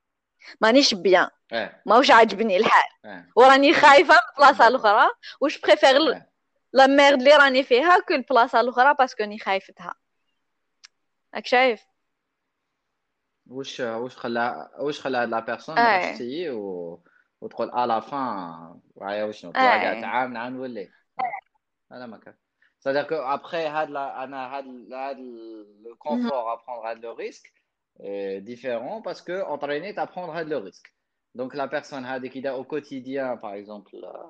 [SPEAKER 1] مانيش بيان،
[SPEAKER 2] اه
[SPEAKER 1] ماهوش عاجبني الحال،
[SPEAKER 2] اه
[SPEAKER 1] وراني خايفه من البلاصه
[SPEAKER 2] داكور
[SPEAKER 1] الاخرى، واش بريفير
[SPEAKER 2] اه
[SPEAKER 1] لا ميرد اللي راني فيها كل البلاصه الاخرى باسكو راني خايفتها. راك شايف؟
[SPEAKER 2] واش واش خلى واش خلى هاد لا بيرسون ما تروحش
[SPEAKER 1] اي
[SPEAKER 2] تسيي و... وتقول ا لا فان وعيا وشنو توا كاع
[SPEAKER 1] اي
[SPEAKER 2] تعاون عن نولي. اه هذا ما كان. C'est-à-dire que après هاد لا انا هاد هاد le
[SPEAKER 1] مهم.
[SPEAKER 2] confort à prendre هاد le risque est différent parce que entraîner à prendre هاد le risque. Donc la personne هذيك إذا au quotidien par exemple euh,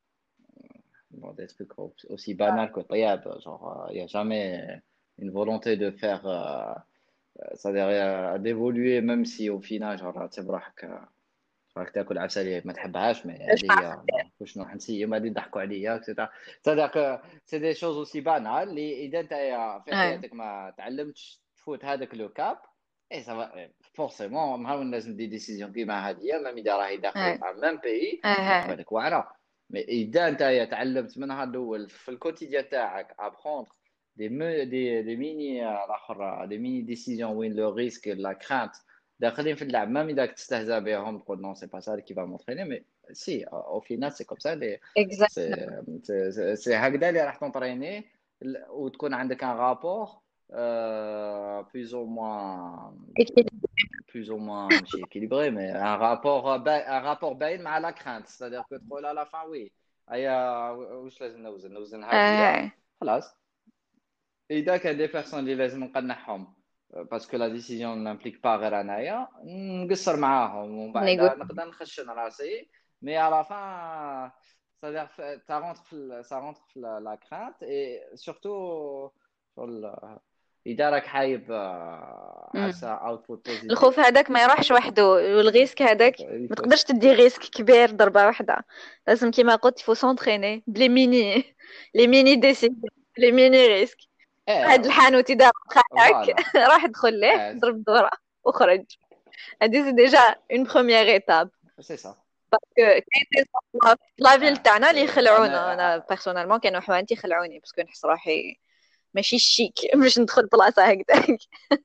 [SPEAKER 2] bon, des trucs au- aussi banals que طياب genre il y a jamais une volonté de faire euh, c'est-à-dire euh, d'évoluer même si au final genre تسيب روحك راك تاكل عسل ما تحبهاش مي
[SPEAKER 1] اش
[SPEAKER 2] هذه هي بون واش نروح نسيم غادي يضحكوا عليا اكسيتيرا. c'est-à-dire que c'est des choses aussi banales اللي اذا انت في
[SPEAKER 1] اي
[SPEAKER 2] حياتك ما تعلمتش تفوت هذاك لو كاب اي سافا فورسيمون نهار لازم دي ديسيزيون كيما هذه ميم اذا راهي داخل
[SPEAKER 1] اي
[SPEAKER 2] في ميم بيي
[SPEAKER 1] اي
[SPEAKER 2] تبان لك واعره. مي اذا انت تعلمت من نهار الاول في الكوتيديان تاعك ابخوندر دي مي دي دي ميني الاخر دي ميني ديسيزيون وين لو ريسك لا كرانت داخلين في اللعب ميم اذا تستهزأ بهم تقول نو سي با سا كي فا مونتريني مي سي او فينال سي كوم سا لي
[SPEAKER 1] اكزاكتلي.
[SPEAKER 2] سي سي سي هكذا اللي راح تونطريني وتكون عندك ان رابور بلوز او موان plus ou moins ماشي équilibré mais un rapport با- un rapport باين مع la crainte c'est-à-dire que تقول à la fin oui هيا واش لازم نوزن نوزن هادية
[SPEAKER 1] اي
[SPEAKER 2] خلاص. اذا كان دي بيرسون اللي لازم نقنعهم باسكو لا ديسيزيون نامبليك با غير انايا نقصر معاهم ومن بعد
[SPEAKER 1] نيغو.
[SPEAKER 2] نقدر نخشن راسي مي على فان c'est-à-dire ça rentre في ça rentre في la crainte et surtout شغل اذا راك حايب آه، عفسه اوتبوت بوزيتيف
[SPEAKER 1] الخوف هذاك ما يروحش وحده، والغيسك هذاك ما
[SPEAKER 2] يفوت.
[SPEAKER 1] تقدرش تدي ريسك كبير ضربة واحدة. لازم كيما قلت فو سونتريني بلي ميني لي ميني ديسيجن، لي ميني ريسك. هاد
[SPEAKER 2] ايه
[SPEAKER 1] الحانوت إذا خانك
[SPEAKER 2] فوالا
[SPEAKER 1] راح ادخل ليه
[SPEAKER 2] ايه
[SPEAKER 1] ضرب دورة وخرج. هادي سي ديجا اون بروميير ايتاب.
[SPEAKER 2] سي سا
[SPEAKER 1] كاين دي زعما في لافيل
[SPEAKER 2] اه
[SPEAKER 1] تاعنا اللي
[SPEAKER 2] سي
[SPEAKER 1] يخلعونا. انا
[SPEAKER 2] انا
[SPEAKER 1] بيرسونيلمون كانوا حوانتي يخلعوني باسكو نحس روحي ماشي شيك باش ندخل بلاصة هكذاك.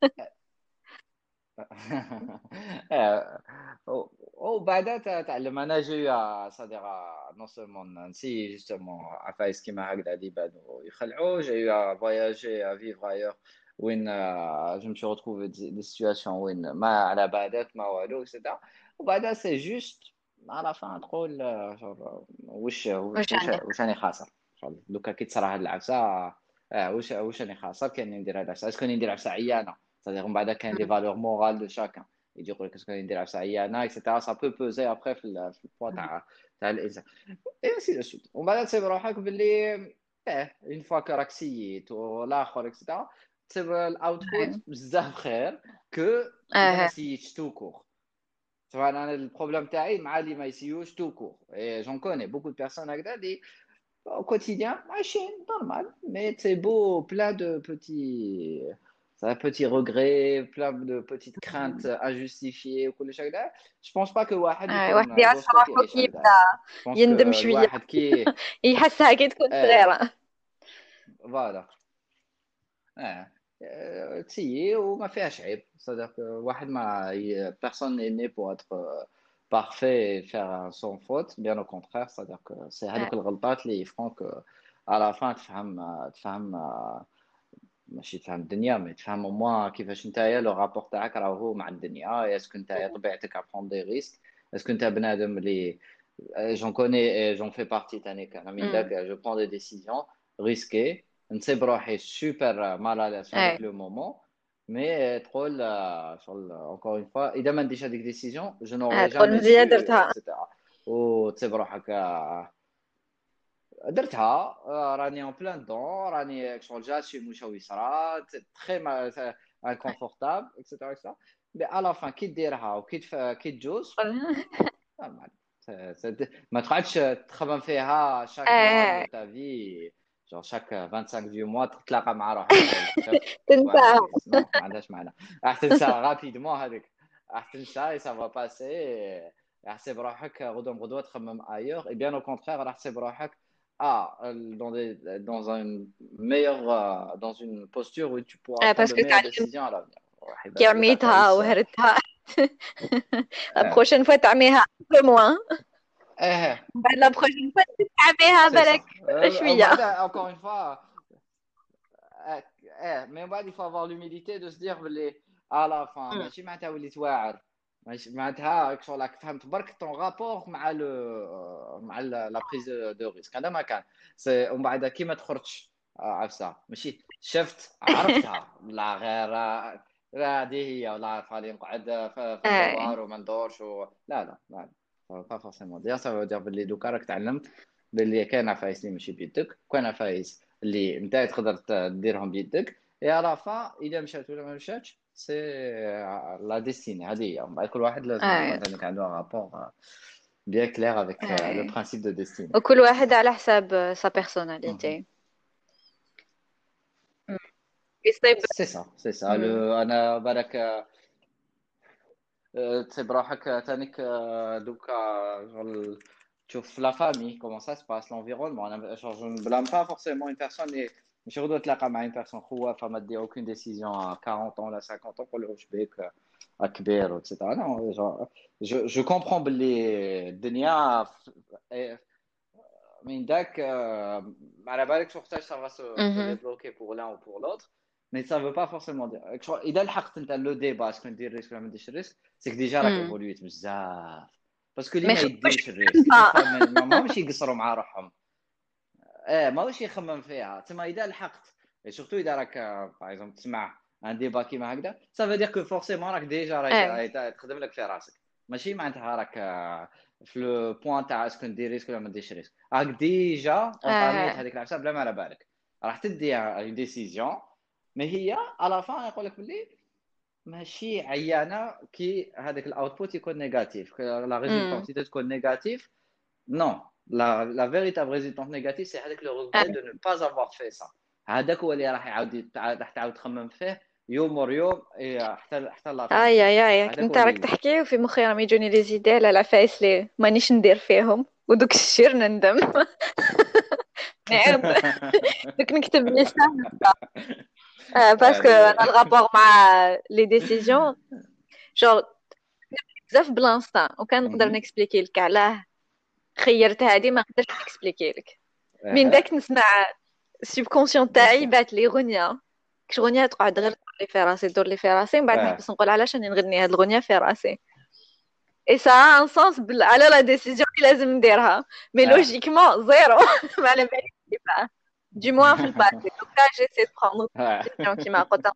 [SPEAKER 2] وبعدها تعلم انا جي صديقه نو سولمون نسي جوستومون عفايس كيما هكذا اللي بانوا يخلعوا جاي فواياجي فيفر ايور وين جو مشي retrouvé دي سيتوياسيون وين ما على بالك ما والو اكسيتيرا. وبعدها سي جوست على فان تقول شغل واش
[SPEAKER 1] واش
[SPEAKER 2] واش
[SPEAKER 1] عندي؟
[SPEAKER 2] واش راني خاسر شغل دوكا كي تصرا هاد العفسه اه واش واش راني خاسر كان ندير هاد العفسه اسكو ندير عفسه عيانه c'est-à-dire من بعد كاين لي فالور مورال دو شاكان يجي يقول لك اسكو ندير عفسه عيانه اكسيتيرا سا بو بوزي ابخي في ال- في البوا تاع تاع الانسان اي سي دو سويت. ومن بعد تسيب روحك باللي اه اون فوا كو راك سييت والاخر اكسيتيرا تسيب الاوتبوت بزاف خير كو اذا ما
[SPEAKER 1] اه
[SPEAKER 2] سييتش تو كور. طبعا انا البروبليم تاعي مع اللي ما يسيوش تو كور اي جون كوني بوكو دو بيرسون هكذا اللي au quotidien, machine, normal. Mais c'est beau, plein de petits, ça, petits regrets, plein de petites craintes injustifiées. وكل شيء هكذا. Je pense pas que واحد
[SPEAKER 1] آه، واحد
[SPEAKER 2] يكون
[SPEAKER 1] يعرف
[SPEAKER 2] دوسطو
[SPEAKER 1] روحه
[SPEAKER 2] كيعيش
[SPEAKER 1] كي
[SPEAKER 2] هكذا.
[SPEAKER 1] يبدا
[SPEAKER 2] Je pense que
[SPEAKER 1] يندم شوية،
[SPEAKER 2] الواحد كي
[SPEAKER 1] يحسها كي تكون
[SPEAKER 2] اه
[SPEAKER 1] صغيرة.
[SPEAKER 2] فوالا اه آه، تسيي وما فيهاش عيب. c'est-à-dire que واحد ما ي- personne n'est né pour être euh, parfait et faire sans faute bien au contraire. c'est-à-dire que c'est
[SPEAKER 1] آه،
[SPEAKER 2] هذوك الغلطات اللي يفرون que à la fin تفهم تفهم ماشي تفهم الدنيا مي تفهم au moins كيفاش نتايا لو رابور تاعك راهو مع الدنيا. اسكو نتايا طبيعتك ابخون دي ريسك اسكو انت بنادم اللي j'en connais et j'en fais partie تاني انا من
[SPEAKER 1] أمم،
[SPEAKER 2] داك je prends des décisions risquées نصيب روحي سوبر مال على في
[SPEAKER 1] أي
[SPEAKER 2] هذاك لو مومون مي تقول آه، شغل encore une fois اذا ما نديش هذيك ديسيجن je
[SPEAKER 1] آه،
[SPEAKER 2] n'aurais
[SPEAKER 1] تقول
[SPEAKER 2] jamais
[SPEAKER 1] مزيان
[SPEAKER 2] su
[SPEAKER 1] درتها.
[SPEAKER 2] اكسيتيرا. وتصيب روحك آه، درتها آه، راني اون بلان دون راني شغل جاسيم واش هو يصرا تري انكونفورتابل اكسيتيرا اكسيتيرا. مي على لا فان كي ديرها وكي تف- كي تجوز normal. C'est- c'est- ما تقعدش تخمم فيها شاك موا دو
[SPEAKER 1] آه،
[SPEAKER 2] تا في genre chaque vingt-cinq du mois تتلاقى مع روحك تقول شوف
[SPEAKER 1] تنساها.
[SPEAKER 2] فوالا نو ما عندهاش معنى. راح تنسى رابيدمون هذيك راح تنسى اي سا فا باسي. راح تسيب روحك غدوه غدوه تخمم ايور اي بيان او كونترير راح تسيب روحك ah dans des dans un meilleur euh, dans une posture où tu pourras
[SPEAKER 1] آه،
[SPEAKER 2] prendre de
[SPEAKER 1] باسكو
[SPEAKER 2] meilleures
[SPEAKER 1] تعلمت
[SPEAKER 2] décisions à l'avenir. راح يبان
[SPEAKER 1] كي
[SPEAKER 2] لك دوكا
[SPEAKER 1] رميتها
[SPEAKER 2] تعيس
[SPEAKER 1] وهرتها. La
[SPEAKER 2] اه
[SPEAKER 1] prochaine fois تعميها un peu moins.
[SPEAKER 2] اه
[SPEAKER 1] بعد la prochaine fois تعميها
[SPEAKER 2] سي
[SPEAKER 1] بالك
[SPEAKER 2] سا ومن
[SPEAKER 1] شوية.
[SPEAKER 2] بعد encore une fois اه اه من بعد il faut avoir l'humilité de se dire بلي à la fin
[SPEAKER 1] Mm.
[SPEAKER 2] ماشي معناتها وليت واعر ماشي معناتها شغل راك فهمت برك طون رابور مع لو مع لا بريز دو ريسك هذا ما كان سي ومن بعد كي ما تخرجش عفسه ماشي شفت عرفتها لا غير لا هذه هي ولا خلينا نقعد في في
[SPEAKER 1] آه.
[SPEAKER 2] الدوار وما ندورش و... لا لا لا با فورسيمون دير سا دير باللي دوكا راك تعلمت باللي كاين عفايس اللي ماشي بيدك وكاين عفايس اللي انت تقدر تديرهم بيدك يا لا فا اذا مشات ولا ما مشاتش سي لا ديستيني هذه هي من بعد كل واحد لازم يكون
[SPEAKER 1] آه.
[SPEAKER 2] عندك عنده رابور bien clair avec euh, le
[SPEAKER 1] آه.
[SPEAKER 2] principe de destinée.
[SPEAKER 1] وكل واحد على حساب sa personnalité. Mm. يصيب.
[SPEAKER 2] C'est ça, c'est ça.
[SPEAKER 1] Mm.
[SPEAKER 2] Le, أنا بالك euh, تصيب روحك تانيك euh, دوكا شغل تشوف la famille, comment ça se passe, l'environnement. أنا genre, je ne blâme pas forcément une personne et مش غدوة تلاقى مع une personne خوافة ما تدير aucune décision à quarante ans ولا cinquante ans pour le بيك كبير et cetera. Non, genre, je, je comprends باللي الدنيا من داك euh, على بالك شو وقتاش ça va se, se
[SPEAKER 1] Mhm.
[SPEAKER 2] débloquer pour l'un ou pour l'autre mais ça veut pas forcément dire شو- اذا لحقت انت لو ديبا اسكو ندير ريسك ولا ما نديرش ريسك سيك ديجا راك
[SPEAKER 1] Mm.
[SPEAKER 2] ايفولويت بزاف باسكو اللي
[SPEAKER 1] ما
[SPEAKER 2] ما
[SPEAKER 1] يخافوش
[SPEAKER 2] يديش الريسك
[SPEAKER 1] منها.
[SPEAKER 2] يخمم ما ما ماشي يقصروا مع روحهم اه ما واش يخمم فيها تما اذا لحقت سورتو اذا راك باغ اكزومبل تسمع ان ديبا كيما هكذا سا فو دير كو فورسيمون راك ديجا
[SPEAKER 1] آه.
[SPEAKER 2] راك تخدم لك في راسك ماشي معناتها راك آه، في لو بوان تاع اسكو ندير ريسك ولا ما نديرش ريسك راك ديجا اونطاميت
[SPEAKER 1] آه.
[SPEAKER 2] هذيك العشاء بلا ما على بالك راح تدي اون ديسيزيون مي هي على فان يقول لك بلي ماشي عيانه كي هذاك الاوتبوت يكون نيجاتيف لا
[SPEAKER 1] Mm.
[SPEAKER 2] ريزولتونتي تكون نيجاتيف. Non, la, la véritable résultante négative, c'est avec le regret
[SPEAKER 1] آه.
[SPEAKER 2] de ne pas avoir fait ça. هذاك هو اللي راح يعاود راح تعاود تخمم فيه يوم ور يوم إيه، حتى حتى لا فان
[SPEAKER 1] اي
[SPEAKER 2] فيه.
[SPEAKER 1] اي اي
[SPEAKER 2] هذاك
[SPEAKER 1] كنت
[SPEAKER 2] هو اللي
[SPEAKER 1] راك
[SPEAKER 2] يبدا.
[SPEAKER 1] تحكي وفي مخي راهم يجوني لي زيدي على العفايس اللي مانيش ندير فيهم ودوك الشير نندم. نعاود دوك نكتب ليستة. آه باسكو انا
[SPEAKER 2] هذه
[SPEAKER 1] الغابور مع لي ديسيزيون جور بزاف بلانستا وكان نقدر
[SPEAKER 2] مهم.
[SPEAKER 1] نكسبليكي لك علاه خيرت هادي ما نقدرش نكسبليكي لك. من
[SPEAKER 2] اها
[SPEAKER 1] داك نسمع السيبكونسيون
[SPEAKER 2] بيان
[SPEAKER 1] تاعي
[SPEAKER 2] سور
[SPEAKER 1] بات لي غنية كش غنية تقعد غير تدور لي في راسي تدور لي في راسي من بعد
[SPEAKER 2] اه
[SPEAKER 1] نحبس نقول علاش راني نغني هاد الغنية في راسي. اي سا ان سونس على لا ديسيزيون اللي لازم نديرها مي
[SPEAKER 2] اه
[SPEAKER 1] لوجيكمون زيرو. ما على باليش كيفاه دي موان في الباسي دوكا جيسي دو بروندر
[SPEAKER 2] اه
[SPEAKER 1] ديسيزيون كيما قلت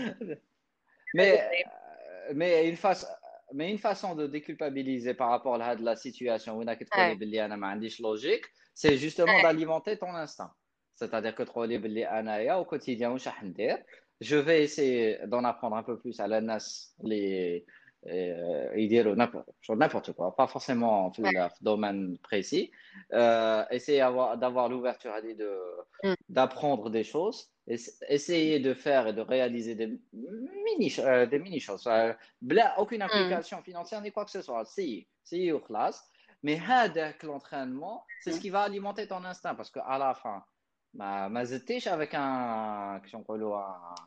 [SPEAKER 2] mais mais une façon mais une façon de déculpabiliser par rapport à la situation où tu تقولي
[SPEAKER 1] اي
[SPEAKER 2] باللي انا ما عنديش logique c'est justement
[SPEAKER 1] اي
[SPEAKER 2] d'alimenter ton instinct c'est-à-dire que تقولي باللي انايا au quotidien واش راح ندير je vais essayer d'en apprendre un peu plus على الناس اللي euh, يديروا n'importe n'importe quoi pas forcément في ال- في domaine précis euh, essayer avoir- d'avoir l'ouverture à de d'apprendre des choses, essayer de faire et de réaliser des mini, euh, des mini choses. Euh, bla, aucune implication financière ni quoi que ce soit. Si, si ou classe. Mais هذاك l'entraînement, c'est ce qui va alimenter ton instinct parce qu'à la fin, ما ما زدتيش avec un كيش نقولوا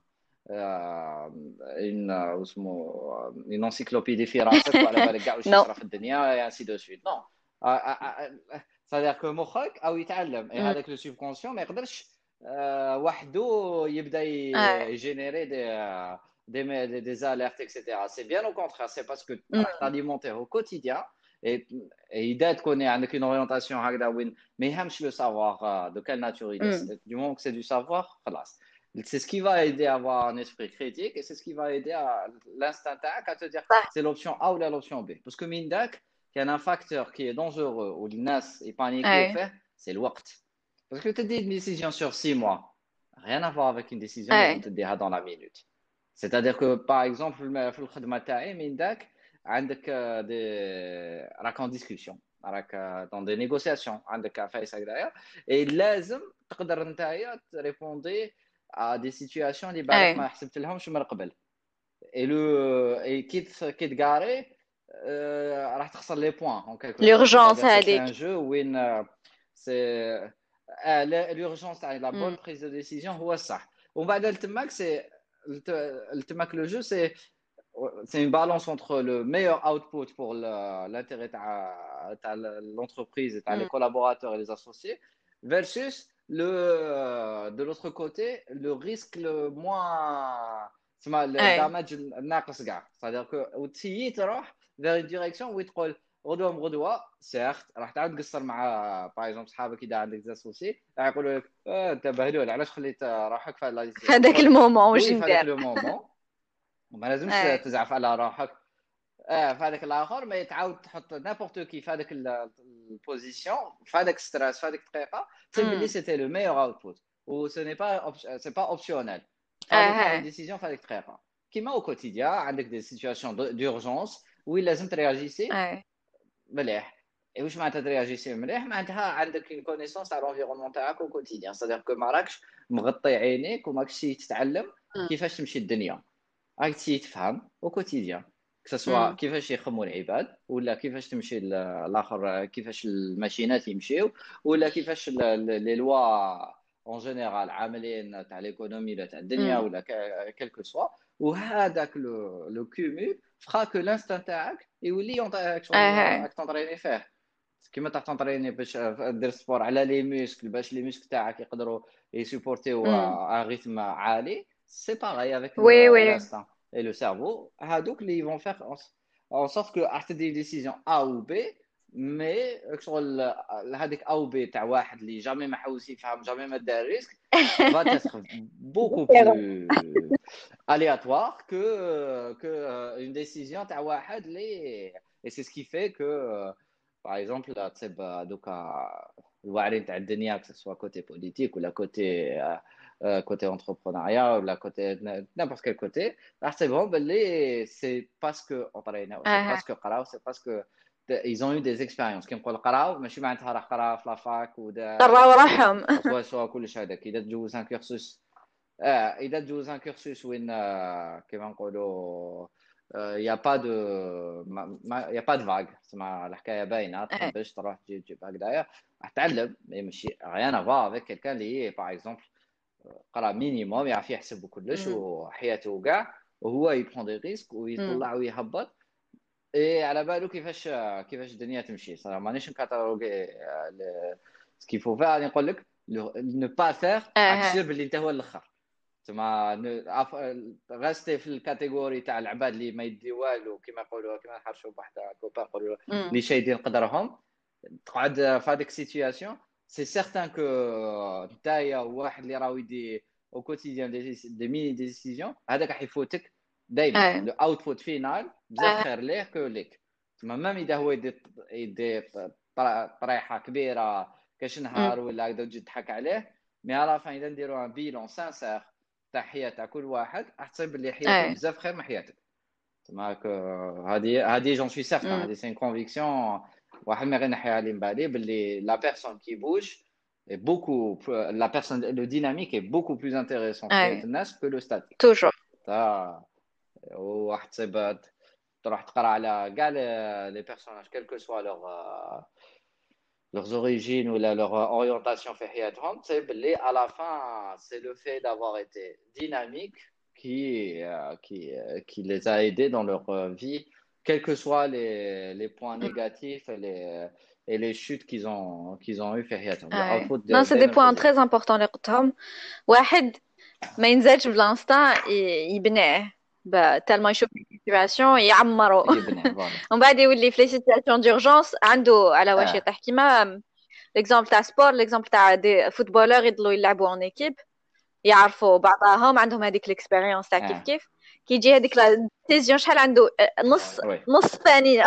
[SPEAKER 2] آه، une آه، اسمه une encyclopédie في راسك وعلى بالك كاع واش
[SPEAKER 1] نو
[SPEAKER 2] يصرى في الدنيا et ainsi de suite. Non. آه، آه، آه، c'est-à-dire que مخك او يتعلم et هذاك لو سوبكونسيون ما يقدرش آه، وحده يبدا
[SPEAKER 1] اي
[SPEAKER 2] يجينيري دي des, des, des alertes, et cetera. C'est bien au contraire, c'est parce que tu t'alimenter au quotidien et, et إذا تكون عندك une orientation هكذا وين ما يهمش le savoir euh, de quelle nature il est. Du moment que c'est du savoir, خلاص. C'est ce qui va aider à avoir un esprit critique et c'est ce qui va aider à l'instinct à te dire
[SPEAKER 1] صح.
[SPEAKER 2] c'est l'option A ou l'option B. Parce que من داك كان un facteur qui est dangereux ou الناس يبانيكي au
[SPEAKER 1] اي
[SPEAKER 2] fait, c'est الوقت. Parce que tu dis une décision sur six mois, rien à voir avec une décision
[SPEAKER 1] اي
[SPEAKER 2] لازم تديها dans la minute. C'est-à-dire que par exemple في الخدمة تاعي من داك عندك دي راك en discussion راك dans des négociations عندك عفايس هكذايا et لازم تقدر نتايا تريبوندي à des situations اللي بالك
[SPEAKER 1] اي
[SPEAKER 2] ما حسبت لهمش من قبل et le et كي كي تقاري euh, راح تخسر les points en quelque sorte.
[SPEAKER 1] l'urgence
[SPEAKER 2] C'est-à-dire que c'est
[SPEAKER 1] هذيك.
[SPEAKER 2] un jeu où une, euh, c'est آه l'urgence تاع la
[SPEAKER 1] مم.
[SPEAKER 2] bonne prise de décision هو الصح ومن بعد تماك c'est تماك le jeu c'est c'est une balance entre le meilleur output pour le- l'intérêt تاع تاع l'entreprise et تاع les
[SPEAKER 1] مم.
[SPEAKER 2] collaborateurs et les associés versus le de l'autre côté le risque le moins تسمى le
[SPEAKER 1] اي
[SPEAKER 2] damage الناقص كاع c'est-à-dire que وتسيي تروح vers une direction où تقول غدوه بغدوه سيرت راح تعاود تقصر مع باغ اكزومبل صحابك اذا عندك زاسوسي راح يقولوا لك اه انت بهلول علاش خليت روحك في هاد لا
[SPEAKER 1] في
[SPEAKER 2] ديسيزيون
[SPEAKER 1] هذاك
[SPEAKER 2] تقول
[SPEAKER 1] المومون واش
[SPEAKER 2] وي في هذاك
[SPEAKER 1] ندير.
[SPEAKER 2] لو مومون وما لازمش
[SPEAKER 1] اي.
[SPEAKER 2] تزعف على روحك. اه في هذاك الاخر ما تعاود تحط نابورت كي في هذاك البوزيسيون في هذاك ستريس في هذيك الدقيقه تصيب باللي
[SPEAKER 1] مم.
[SPEAKER 2] سيتي لو ميور اوتبوت و سو ني با سي با اوبسيونيل فابي فار اون
[SPEAKER 1] اي.
[SPEAKER 2] ديسيزيون في هذيك الدقيقه كيما او كوتيديان عندك دي سيتوياسيون دورجونس وين لازم ترياجيسي
[SPEAKER 1] اي.
[SPEAKER 2] مليح. اي واش معناتها ترياجيسي مليح معناتها عندك اون كونيسونس تاع لونفيرونمون تاعك او كوتيديان صدق كو ما راكش مغطي عينيك وماكش تتعلم
[SPEAKER 1] مم.
[SPEAKER 2] كيفاش تمشي الدنيا راك تسيي تفهم او كوتيديان سواء
[SPEAKER 1] مم.
[SPEAKER 2] كيفاش يخموا العباد ولا كيفاش تمشي ال- الاخر كيفاش الماشينات يمشيو ولا كيفاش لي لوا اون جينيرال عاملين تاع ليكونومي ولا تاع الدنيا
[SPEAKER 1] مم.
[SPEAKER 2] ولا كيلكو سوا وهذاك لو لو كومول فخا كو لانستان تاعك يولي يعطيك شغل
[SPEAKER 1] اي.
[SPEAKER 2] راك تنطريني فيه كيما تاع تنطريني باش دير سبور على لي موسكل باش لي موسكل تاعك يقدروا يسيبورتيو
[SPEAKER 1] مم.
[SPEAKER 2] ان ريتم عالي سي باغي افيك
[SPEAKER 1] وي وي.
[SPEAKER 2] l'instinct et le cerveau هادوك اللي vont faire en, en sorte que راح تدي décision A ou B مي شغل هذيك A ou B تاع واحد اللي جامي ما حوس يفهم جامي ما دار ريسك va être beaucoup plus aléatoire que que une décision تاع واحد اللي et c'est ce qui fait que par exemple تصيب دوكا الواعرين تاع الدنيا que ce soit côté politique ou la côté euh, côté entrepreneuriat ou la côté n'importe quel côté راح تصيبهم باللي c'est parce que entraîneur c'est
[SPEAKER 1] اي.
[SPEAKER 2] parce que قراو c'est parce que ils ont eu des expériences كي نقول قراو ماشي معناتها راح قرا في لافاك ودار
[SPEAKER 1] قراو روحهم.
[SPEAKER 2] سوا سوا كلش هذاك اذا تجوز ان كورسوس اه اذا تجوز ان كورسوس وين آه، كيما نقولوا يا با دو يا با دو فاغ تسمى الحكايه باينه
[SPEAKER 1] اي.
[SPEAKER 2] تحبش تروح تجي تجيب هكذايا راح تعلم مي ماشي ريان افا افيك كيلكان اللي باغ اكزومبل قرا مينيموم يعرف يحسب كلش
[SPEAKER 1] مم.
[SPEAKER 2] وحياته كاع وهو يبرون دي ريسك
[SPEAKER 1] مم.
[SPEAKER 2] ويطلع ويهبط اي على بالو كيفاش كيفاش الدنيا تمشي صراحه مانيش نكاتالوغي سكي فو فير غادي نقول لك نو با فير راك
[SPEAKER 1] اي.
[SPEAKER 2] سير باللي انت هو الاخر تما غاستي في الكاتيجوري تاع العباد اللي ما يدي والو كيما يقولوا كيما نحرشوا بواحد كوبا نقولوا
[SPEAKER 1] مم.
[SPEAKER 2] اللي شايدين قدرهم تقعد في هذيك السيتوياسيون سي سيغتان كو نتايا واحد اللي راهو يدي او كوتيديان دي دي ميني ديسيزيون هذاك راح يفوتك دائما
[SPEAKER 1] اي.
[SPEAKER 2] لو اوتبوت فينال بزاف
[SPEAKER 1] اي.
[SPEAKER 2] خير ليه كو ليك تما ميم اذا هو يدي يدي طريحه كبيره كاش
[SPEAKER 1] مم.
[SPEAKER 2] نهار ولا هكذا تجي تضحك عليه مي على فان اذا نديروا ان بيلون سانسير تاع حياه تاع كل واحد راح تصيب اللي حياته
[SPEAKER 1] اي.
[SPEAKER 2] بزاف خير من حياتك تما هذه هذه جون سوي سيغتان
[SPEAKER 1] مم.
[SPEAKER 2] هذه سي كونفيكسيون واحد ما غير نحيها لي من بالي باللي لا بيرسون كي بوج est beaucoup la personne le dynamique est beaucoup plus intéressant في حياة
[SPEAKER 1] اي.
[SPEAKER 2] الناس que le statique
[SPEAKER 1] توجور.
[SPEAKER 2] تا واحد تصيب تروح تقرا على كاع لي بيرسوناج quel que soit leur leurs origines ou la, leur orientation في حياتهم تصيب باللي à la fin c'est le fait d'avoir été dynamique qui euh, qui qui les a aidés dans leur vie quels que soient les les points négatifs et les et les chutes qu'ils ont qu'ils ont eu في حياتهم
[SPEAKER 1] اي.
[SPEAKER 2] الاوتبوت
[SPEAKER 1] نو سي دي
[SPEAKER 2] دائما
[SPEAKER 1] بوان
[SPEAKER 2] بوزيتيف.
[SPEAKER 1] تري امبورطون اللي قلتهم. واحد ما ينزلش بلانستا ي- يبنيه تالما يشوف السيتواسيون يعمرو.
[SPEAKER 2] يبني فوالا
[SPEAKER 1] ومن بعد يولي في لي سيتواسيون دورجونس عنده على واش
[SPEAKER 2] اه
[SPEAKER 1] يطيح كيما ليكزامبل تاع سبور ليكزامبل تاع دي فوتبولور يضلوا يلعبوا اون ايكيب يعرفوا بعضهم عندهم هذيك الاكسبيريونس تاع كيف
[SPEAKER 2] اه
[SPEAKER 1] كيف كي يجي هذيك لا ديسيزيون شحال عنده آه، نص
[SPEAKER 2] وي
[SPEAKER 1] نص ثانيه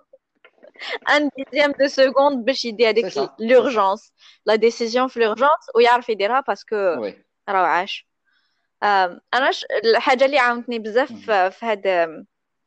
[SPEAKER 1] ان ديزيام دو سكوند باش يدي
[SPEAKER 2] سي
[SPEAKER 1] هذيك
[SPEAKER 2] سا سي سا
[SPEAKER 1] لورجونس لا ديسيزيون في لورجونس ويعرف يديرها باسكو
[SPEAKER 2] وي
[SPEAKER 1] راه عاش. آم، انا ش... الحاجه اللي عاونتني بزاف
[SPEAKER 2] مهم.
[SPEAKER 1] في في هاد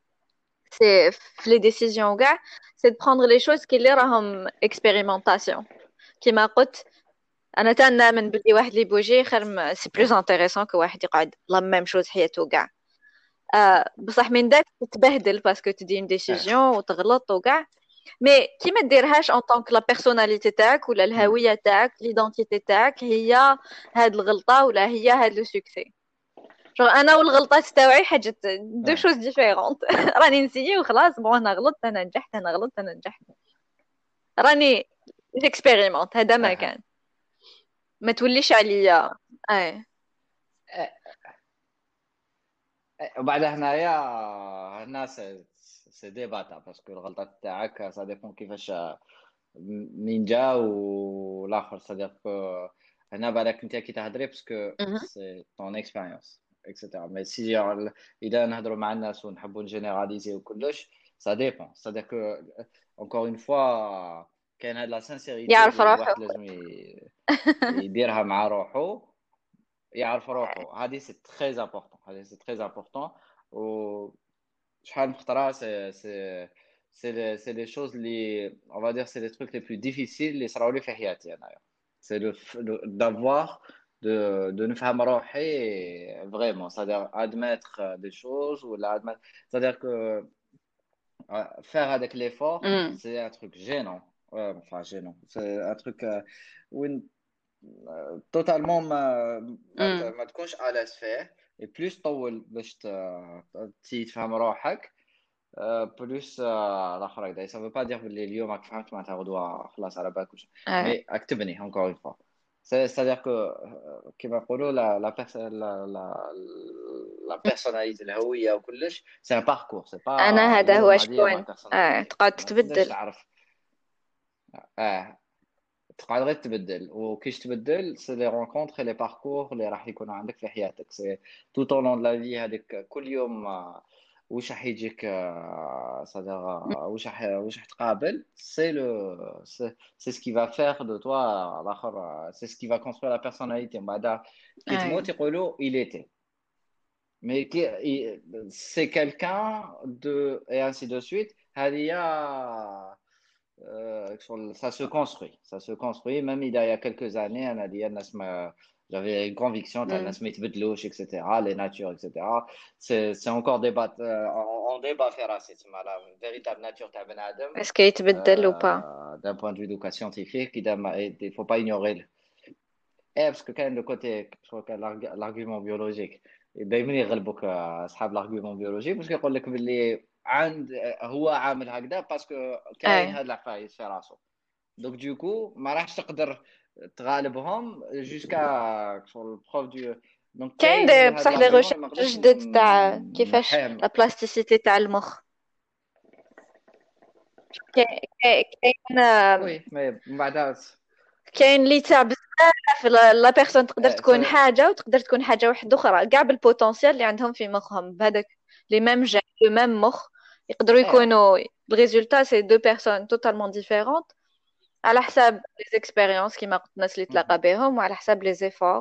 [SPEAKER 1] سي في لي ديسيزيون كاع سي دو بروندر لي شوز كي اللي راهم اكسبيريمونطاسيون كيما قلت. انا تنامن بلي واحد اللي بوجي خير سي بلوز انتريسون كو واحد يقعد لا ميم شوز حياته كاع. آه بصح من داك تتبهدل باسكو تدي اون
[SPEAKER 2] اه
[SPEAKER 1] ديسيزيون وتغلط وكاع مي كي ما ديرهاش اون طونك لا بيرسوناليتي تاعك ولا
[SPEAKER 2] مم.
[SPEAKER 1] الهويه تاعك ليدونتيتي تاعك هي هاد الغلطه ولا هي هاد لو سوكسي. جو انا والغلطات تاوعي حاجه دو
[SPEAKER 2] اه
[SPEAKER 1] شوز ديفيرونت. راني نسيي وخلاص، بون انا غلطت انا نجحت انا غلطت انا نجحت. راني جيكسبيريمونت، هذا ما
[SPEAKER 2] اه
[SPEAKER 1] كان. ما توليش عليا. اي.
[SPEAKER 2] اه وبعدها هنايا هنا سي سي ديباتا باسكو الغلطات تاعك سا ديبون كيفاش من جا والاخر صديق. هنا بالك انت كي تهضري باسكو
[SPEAKER 1] مهم.
[SPEAKER 2] سي طون اكسبيريونس اكسيتيرا. مي سي اذا نهضروا مع الناس ونحبوا نجينيراليزي وكلش سا ديبون صديق. اونكور اون فوا كاين هاد لا سانسيريتي
[SPEAKER 1] يعرف
[SPEAKER 2] اللي
[SPEAKER 1] روحه.
[SPEAKER 2] الواحد لازم ي- يديرها مع روحه. يعرف روحه هذه سي تري امبورطون. هذه سي تري امبورطون. و شحال من خطره سي سي سي لي سي لي شوز اللي on va dire c'est les trucs les plus difficiles اللي صراو لي في حياتي انايا. c'est le f- le- d'avoir de de نفهم روحي vraiment c'est-à-dire admettre des choses ou la admettre c'est-à-dire que euh, faire avec l'effort
[SPEAKER 1] امم.
[SPEAKER 2] c'est un truc gênant. Ouais, enfin gênant c'est un truc euh, où توتالمون ما ما ت-
[SPEAKER 1] امم.
[SPEAKER 2] ما تكونش على فيه. اي بلوس طول باش ت- تي تفهم روحك. آه، بلوس آه، الاخر هكذا سافو با دير بلي اليوم راك فهمت معناتها غدوه خلاص على بالك وش.
[SPEAKER 1] اي.
[SPEAKER 2] مي راك تبني اونكور اون فوا. سيتادير كو كيما نقولوا لا لا بيرس- لا لا لا بيرسوناليتي الهويه وكلش سي ان باركور سي
[SPEAKER 1] انا
[SPEAKER 2] با
[SPEAKER 1] هذا هو
[SPEAKER 2] اليوم هذه هي ما
[SPEAKER 1] شكون. اي
[SPEAKER 2] بيرسوناليتي
[SPEAKER 1] تقعد
[SPEAKER 2] ما تقدرش
[SPEAKER 1] تتبدل.
[SPEAKER 2] تعرف. اه تقعد غير تبدل وكيش تبدل سي لي رونكونتر لي باركور اللي راح يكونوا عندك في حياتك سي تو طول لون لا في. هذيك كل يوم آه، وش راح يجيك صدر وش راح وش راح تقابل سي لو سي سكي فا فير دو توا الاخر سي سكي فا كونستروي لا بيرسوناليتي. من بعد كي
[SPEAKER 1] اي.
[SPEAKER 2] تموت يقولوا il était mais qui c'est quelqu'un de et ainsi de suite. هذه هي euh, ça se construit, ça se construit. Même il y a quelques années, on a dit, j'avais une conviction, t'as
[SPEAKER 1] امم.
[SPEAKER 2] Nasmith Bedlouch, et cetera, les natures, et cetera. C'est, c'est encore débat, euh, on, on débat faire c'est la véritable nature de Ben Adam,
[SPEAKER 1] اسكو يتبدل وبا.
[SPEAKER 2] euh, d'un point de vue donc, scientifique. Il ne faut pas ignorer. Eh, parce que quand même le côté, je crois que l'arg- l'argument biologique, دايما يغلبوك اصحاب l'argument biologique parce يقول لك باللي عند هو عامل هكذا باسكو كاين
[SPEAKER 1] اي.
[SPEAKER 2] هاد العفايس في راسو. دونك دوكو ما راحش تقدر تغالبهم جوسكا شغل بروف دو. دونك
[SPEAKER 1] كاين
[SPEAKER 2] كاين
[SPEAKER 1] دي
[SPEAKER 2] هاد
[SPEAKER 1] بصح دي
[SPEAKER 2] الارغيومون
[SPEAKER 1] غوشيرش
[SPEAKER 2] اللي ما نقدرش
[SPEAKER 1] جدد تاع كيفاش
[SPEAKER 2] نحيهم.
[SPEAKER 1] لا بلاستيسيتي تاع المخ. كاين كاين
[SPEAKER 2] وي مي من بعد
[SPEAKER 1] كاين اللي تاع بزاف لا لا بيرسون تقدر
[SPEAKER 2] آه،
[SPEAKER 1] تكون
[SPEAKER 2] سا-
[SPEAKER 1] حاجه وتقدر تكون حاجه واحده اخرى، كاع بالبوتونسيال اللي عندهم في مخهم بهذاك لي ميم جين لو ميم مخ. يقدروا
[SPEAKER 2] اه
[SPEAKER 1] يكونوا الريزولتا سي دو بيرسون توتالمون ديفيرونت على حساب لي زيكسبيريونس كيما قلت الناس اللي تلاقى
[SPEAKER 2] مهم.
[SPEAKER 1] بهم، وعلى حساب لي زيفور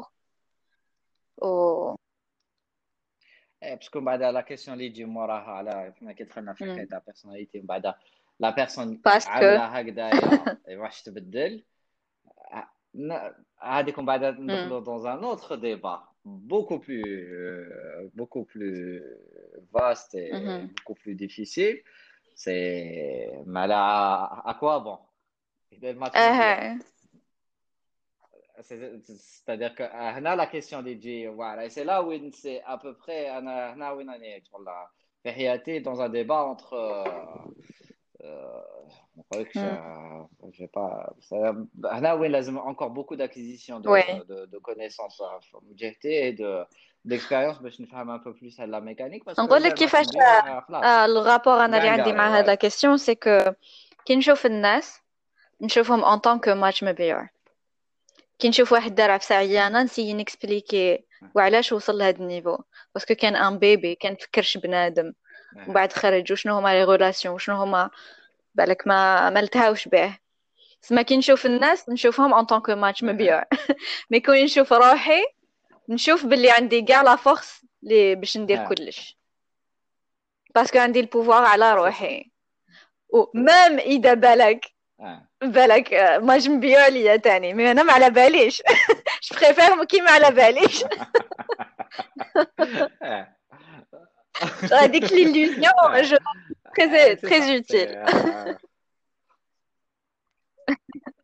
[SPEAKER 1] و
[SPEAKER 2] اه باسكو من بعد لا كيسيون اللي تجي موراها على كيما كي دخلنا في حكايه تاع بيرسوناليتي من بعد لا بيرسون
[SPEAKER 1] باسكو.
[SPEAKER 2] عامله هكذايا واش تبدل. ن- هذيك من بعد ندخلوا dans un autre débat beaucoup plus euh, beaucoup plus vaste et beaucoup plus difficile. C'est mais là à quoi bon إذا ما تمدير.
[SPEAKER 1] اه.
[SPEAKER 2] C'est- c'est-à-dire que euh, هنا la question اللي تجي voilà et c'est là où c'est à peu près انا هنا وين راني شغل في حياتي dans un débat entre euh, euh, ما نقولكش euh, j'ai pas ça- هنا وين لازم encore beaucoup d'acquisition
[SPEAKER 1] وي.
[SPEAKER 2] de, de, de connaissances euh, من جهتي et de d'expérience باش نفهم un peu plus على la mécanique parce que
[SPEAKER 1] نقول لك
[SPEAKER 2] إذا ما
[SPEAKER 1] كيفاش.
[SPEAKER 2] تمديش آه، خلاص
[SPEAKER 1] آه الغابور انا اللي عندي
[SPEAKER 2] غانغاري
[SPEAKER 1] مع هاد لا
[SPEAKER 2] ouais.
[SPEAKER 1] كيسيون سي كو كي نشوف الناس نشوفهم ان طونك ماتش مبيوع. كي نشوف واحد دار عفسه عيانه نسيي نكسبليكي وعلاش وصل لهاد النيفو، باسكو كان ان بيبي كان فكرش بنادم ومن
[SPEAKER 2] Ouais.
[SPEAKER 1] بعد خرج وشنو هما لي غولاسيون وشنو هما بالك ما ما لتهاوش به. سما كي نشوف الناس نشوفهم ان طونك ماتش
[SPEAKER 2] Ouais.
[SPEAKER 1] مبيوع. مي كون نشوف روحي نشوف باللي عندي كاع لا فورس لي باش ندير
[SPEAKER 2] Ouais.
[SPEAKER 1] كلش، باسكو عندي البوفوار على
[SPEAKER 2] C'est ça.
[SPEAKER 1] روحي. ومام اذا بالك
[SPEAKER 2] Ouais.
[SPEAKER 1] بالك آه، ماتش مبيوع ليا تاني مي انا ما على باليش. جو بريفير كي ما على باليش.
[SPEAKER 2] Ouais.
[SPEAKER 1] هذيك l'illusion
[SPEAKER 2] Ouais.
[SPEAKER 1] je
[SPEAKER 2] Euh,
[SPEAKER 1] très
[SPEAKER 2] c'est
[SPEAKER 1] très
[SPEAKER 2] ça,
[SPEAKER 1] utile.
[SPEAKER 2] c'est euh,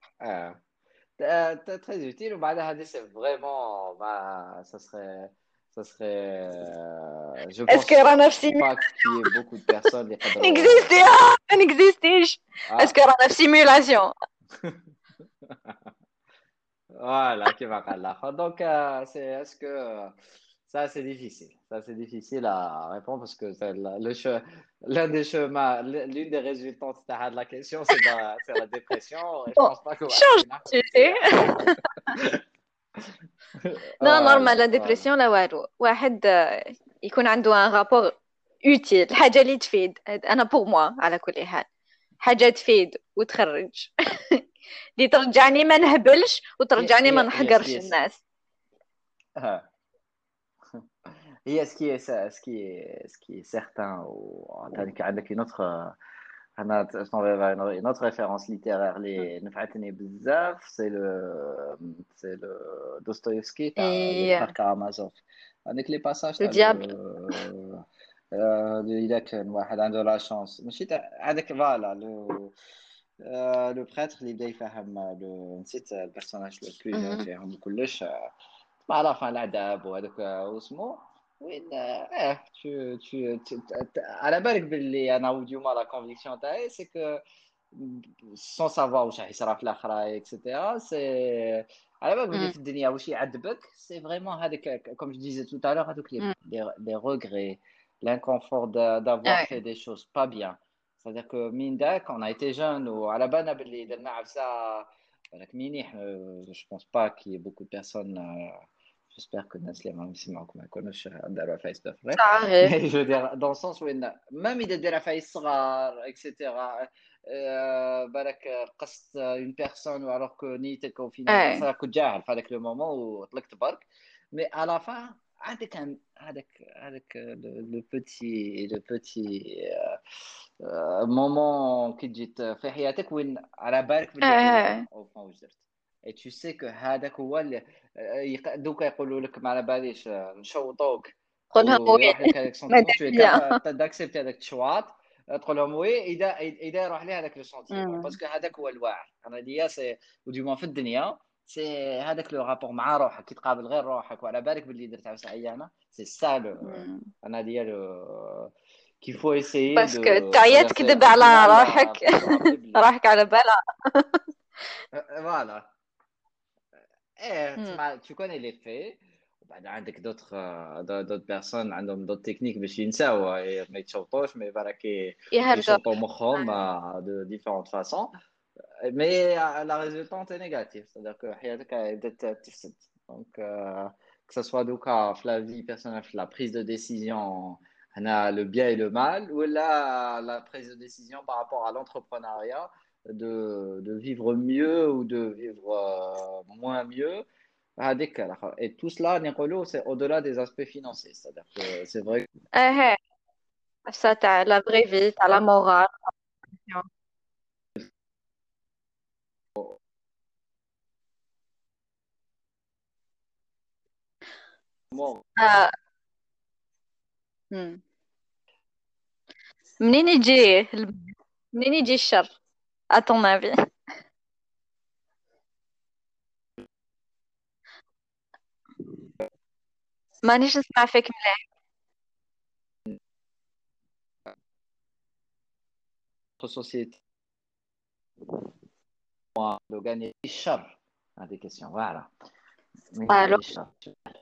[SPEAKER 2] euh, euh, très très utile. Bah, là, c'est vraiment, bah, ça serait, Ça serait, euh, je
[SPEAKER 1] Est-ce que
[SPEAKER 2] pense
[SPEAKER 1] رانا في سيمي
[SPEAKER 2] pas qu'il y ait beaucoup de personnes qui يقدروا.
[SPEAKER 1] نكزيستي آه ما نكزيستيش
[SPEAKER 2] Ah,
[SPEAKER 1] اسكو رانا في سيمولاسيون
[SPEAKER 2] voilà, qui va là. Donc, euh, c'est, est-ce que euh, ça, c'est difficile. Ça, c'est difficile à répondre parce que c'est la- le che- l'un des chemins, l'une des résultantes de la question, c'est la, c'est la dépression. Et je
[SPEAKER 1] بون
[SPEAKER 2] pense pas que واحد
[SPEAKER 1] شونج
[SPEAKER 2] فينا يحب
[SPEAKER 1] سوجي
[SPEAKER 2] يرتاح.
[SPEAKER 1] لا نورمال لا
[SPEAKER 2] Voilà, voilà.
[SPEAKER 1] ديبرسيون لا والو واحد آه، يكون عنده ان رابور اوتيل حاجه اللي تفيد انا بوغ موا على كل حال حاجه تفيد وتخرج اللي ترجعني ما نهبلش
[SPEAKER 2] هي
[SPEAKER 1] وترجعني ما
[SPEAKER 2] هي هي ce qui
[SPEAKER 1] نحقرش
[SPEAKER 2] est,
[SPEAKER 1] الناس.
[SPEAKER 2] آه. هي ce qui est, ce qui est, ce qui est certain. Ou, عندك عندك une autre. أنا je t'enverrai une une autre référence littéraire اللي نفعتني بزاف سي لو سي لو دوستويفسكي تاع لي
[SPEAKER 1] اي
[SPEAKER 2] فخار كارامازوف. هذيك لي باساج تاع
[SPEAKER 1] الديابل.
[SPEAKER 2] لو آه، إذا كان واحد عنده لا شانس ماشي تاع هذاك فوالا لو آه، لو بريتر اللي بدا يفهم لو نسيت البيرسوناج لو بلو جون
[SPEAKER 1] مهم.
[SPEAKER 2] فيهم كلش مع لا فان العذاب وهذاك واسمو وين اه tu, tu, tu, على بالك باللي انا وديما لا كونفيكسيون تاعي سي كو سون سافوار واش راح يصرى في الاخرى اكسيتيرا سي على بالك باللي
[SPEAKER 1] مم.
[SPEAKER 2] في الدنيا واش يعذبك سي فريمون هذاك كوم جو ديزي tout à l'heure هذوك لي
[SPEAKER 1] مم.
[SPEAKER 2] لي regrets l'inconfort de- d'avoir fait
[SPEAKER 1] اي
[SPEAKER 2] des choses pas bien. C'est-à-dire que من داك on a été jeune وعلى بالنا باللي درنا عفسه بالك مينيح. je pense pas qu'il y ait beaucoup de personnes euh, j'espère que الناس اللي راهم يسمعوك ما يكونوش داروا عفايس بفري.
[SPEAKER 1] صحيح.
[SPEAKER 2] Mais je veux dire dans le sens où إن même إذا دار عفايس صغار اكسيتيرا euh, بالك قصت une personne alors que نيتك au final
[SPEAKER 1] اي
[SPEAKER 2] ça كنت جاهل في هذاك لو مومون وطلقت برك. Mais à la fin هذاك هذاك هذاك لو بوتي لو بوتي مومون كي تجي في حياتك وين على بالك باللي
[SPEAKER 1] اي
[SPEAKER 2] عيان او فون واش درت. اي تو سي كو هذاك هو اللي يق- دوكا يقولوا لك ما على باليش آه، نشوطوك
[SPEAKER 1] قولها وي
[SPEAKER 2] ويروح لك هذاك سونتيمون
[SPEAKER 1] مادام
[SPEAKER 2] تو
[SPEAKER 1] بيان.
[SPEAKER 2] كابابل داكسبتي هذاك التشواط. تقول لهم وي اذا اذا يروح لي هذاك لو سونتيمون
[SPEAKER 1] مم.
[SPEAKER 2] باسكو هذاك هو الواعي. انا ديا سي وديما في الدنيا سي هذاك لو رابور مع روحك كي تقابل غير روحك وعلى بالك باللي درت عفسه عيانه سي سا لو.
[SPEAKER 1] مم.
[SPEAKER 2] انا ديالو qu'il faut essayer de.
[SPEAKER 1] باسكو تعيا
[SPEAKER 2] C'est-à-dire, c'est
[SPEAKER 1] تكذب
[SPEAKER 2] au
[SPEAKER 1] على
[SPEAKER 2] final,
[SPEAKER 1] روحك
[SPEAKER 2] euh, faut se rappeler باللي
[SPEAKER 1] راحك على بالها.
[SPEAKER 2] euh, voilà. Eh,
[SPEAKER 1] مم.
[SPEAKER 2] تسمع- tu connais les faits. وبعد عندك d'autres euh, d'autres personnes عندهم d'autres techniques باش ينساو إيه، ما يتشوطوش مي بالك ي-
[SPEAKER 1] يهرجوا.
[SPEAKER 2] يشوطوا مخهم euh, de différentes façons. Mais euh, la résultante est négative, c'est-à-dire que حياتك بدات تفسد. Donc euh, que ce soit دوكا في la vie personnelle في la prise de décision هنا le bien et le mal ou là la prise de décision par rapport à l'entrepreneuriat de, de vivre mieux ou de vivre euh, moins mieux. هذيك الآخر. Et tout cela نقولوا c'est au-delà des aspects financiers, c'est-à-dire que c'est vrai.
[SPEAKER 1] ايه نفسها تاع لا فري في تاع لا مورال. آه. مم. منين يجي الب- منين يجي الشر à ton avis؟ مانيش نسمع فيك مليح.
[SPEAKER 2] Notre société de gagner الشر. هذه question voilà. من
[SPEAKER 1] الو
[SPEAKER 2] يجي الشر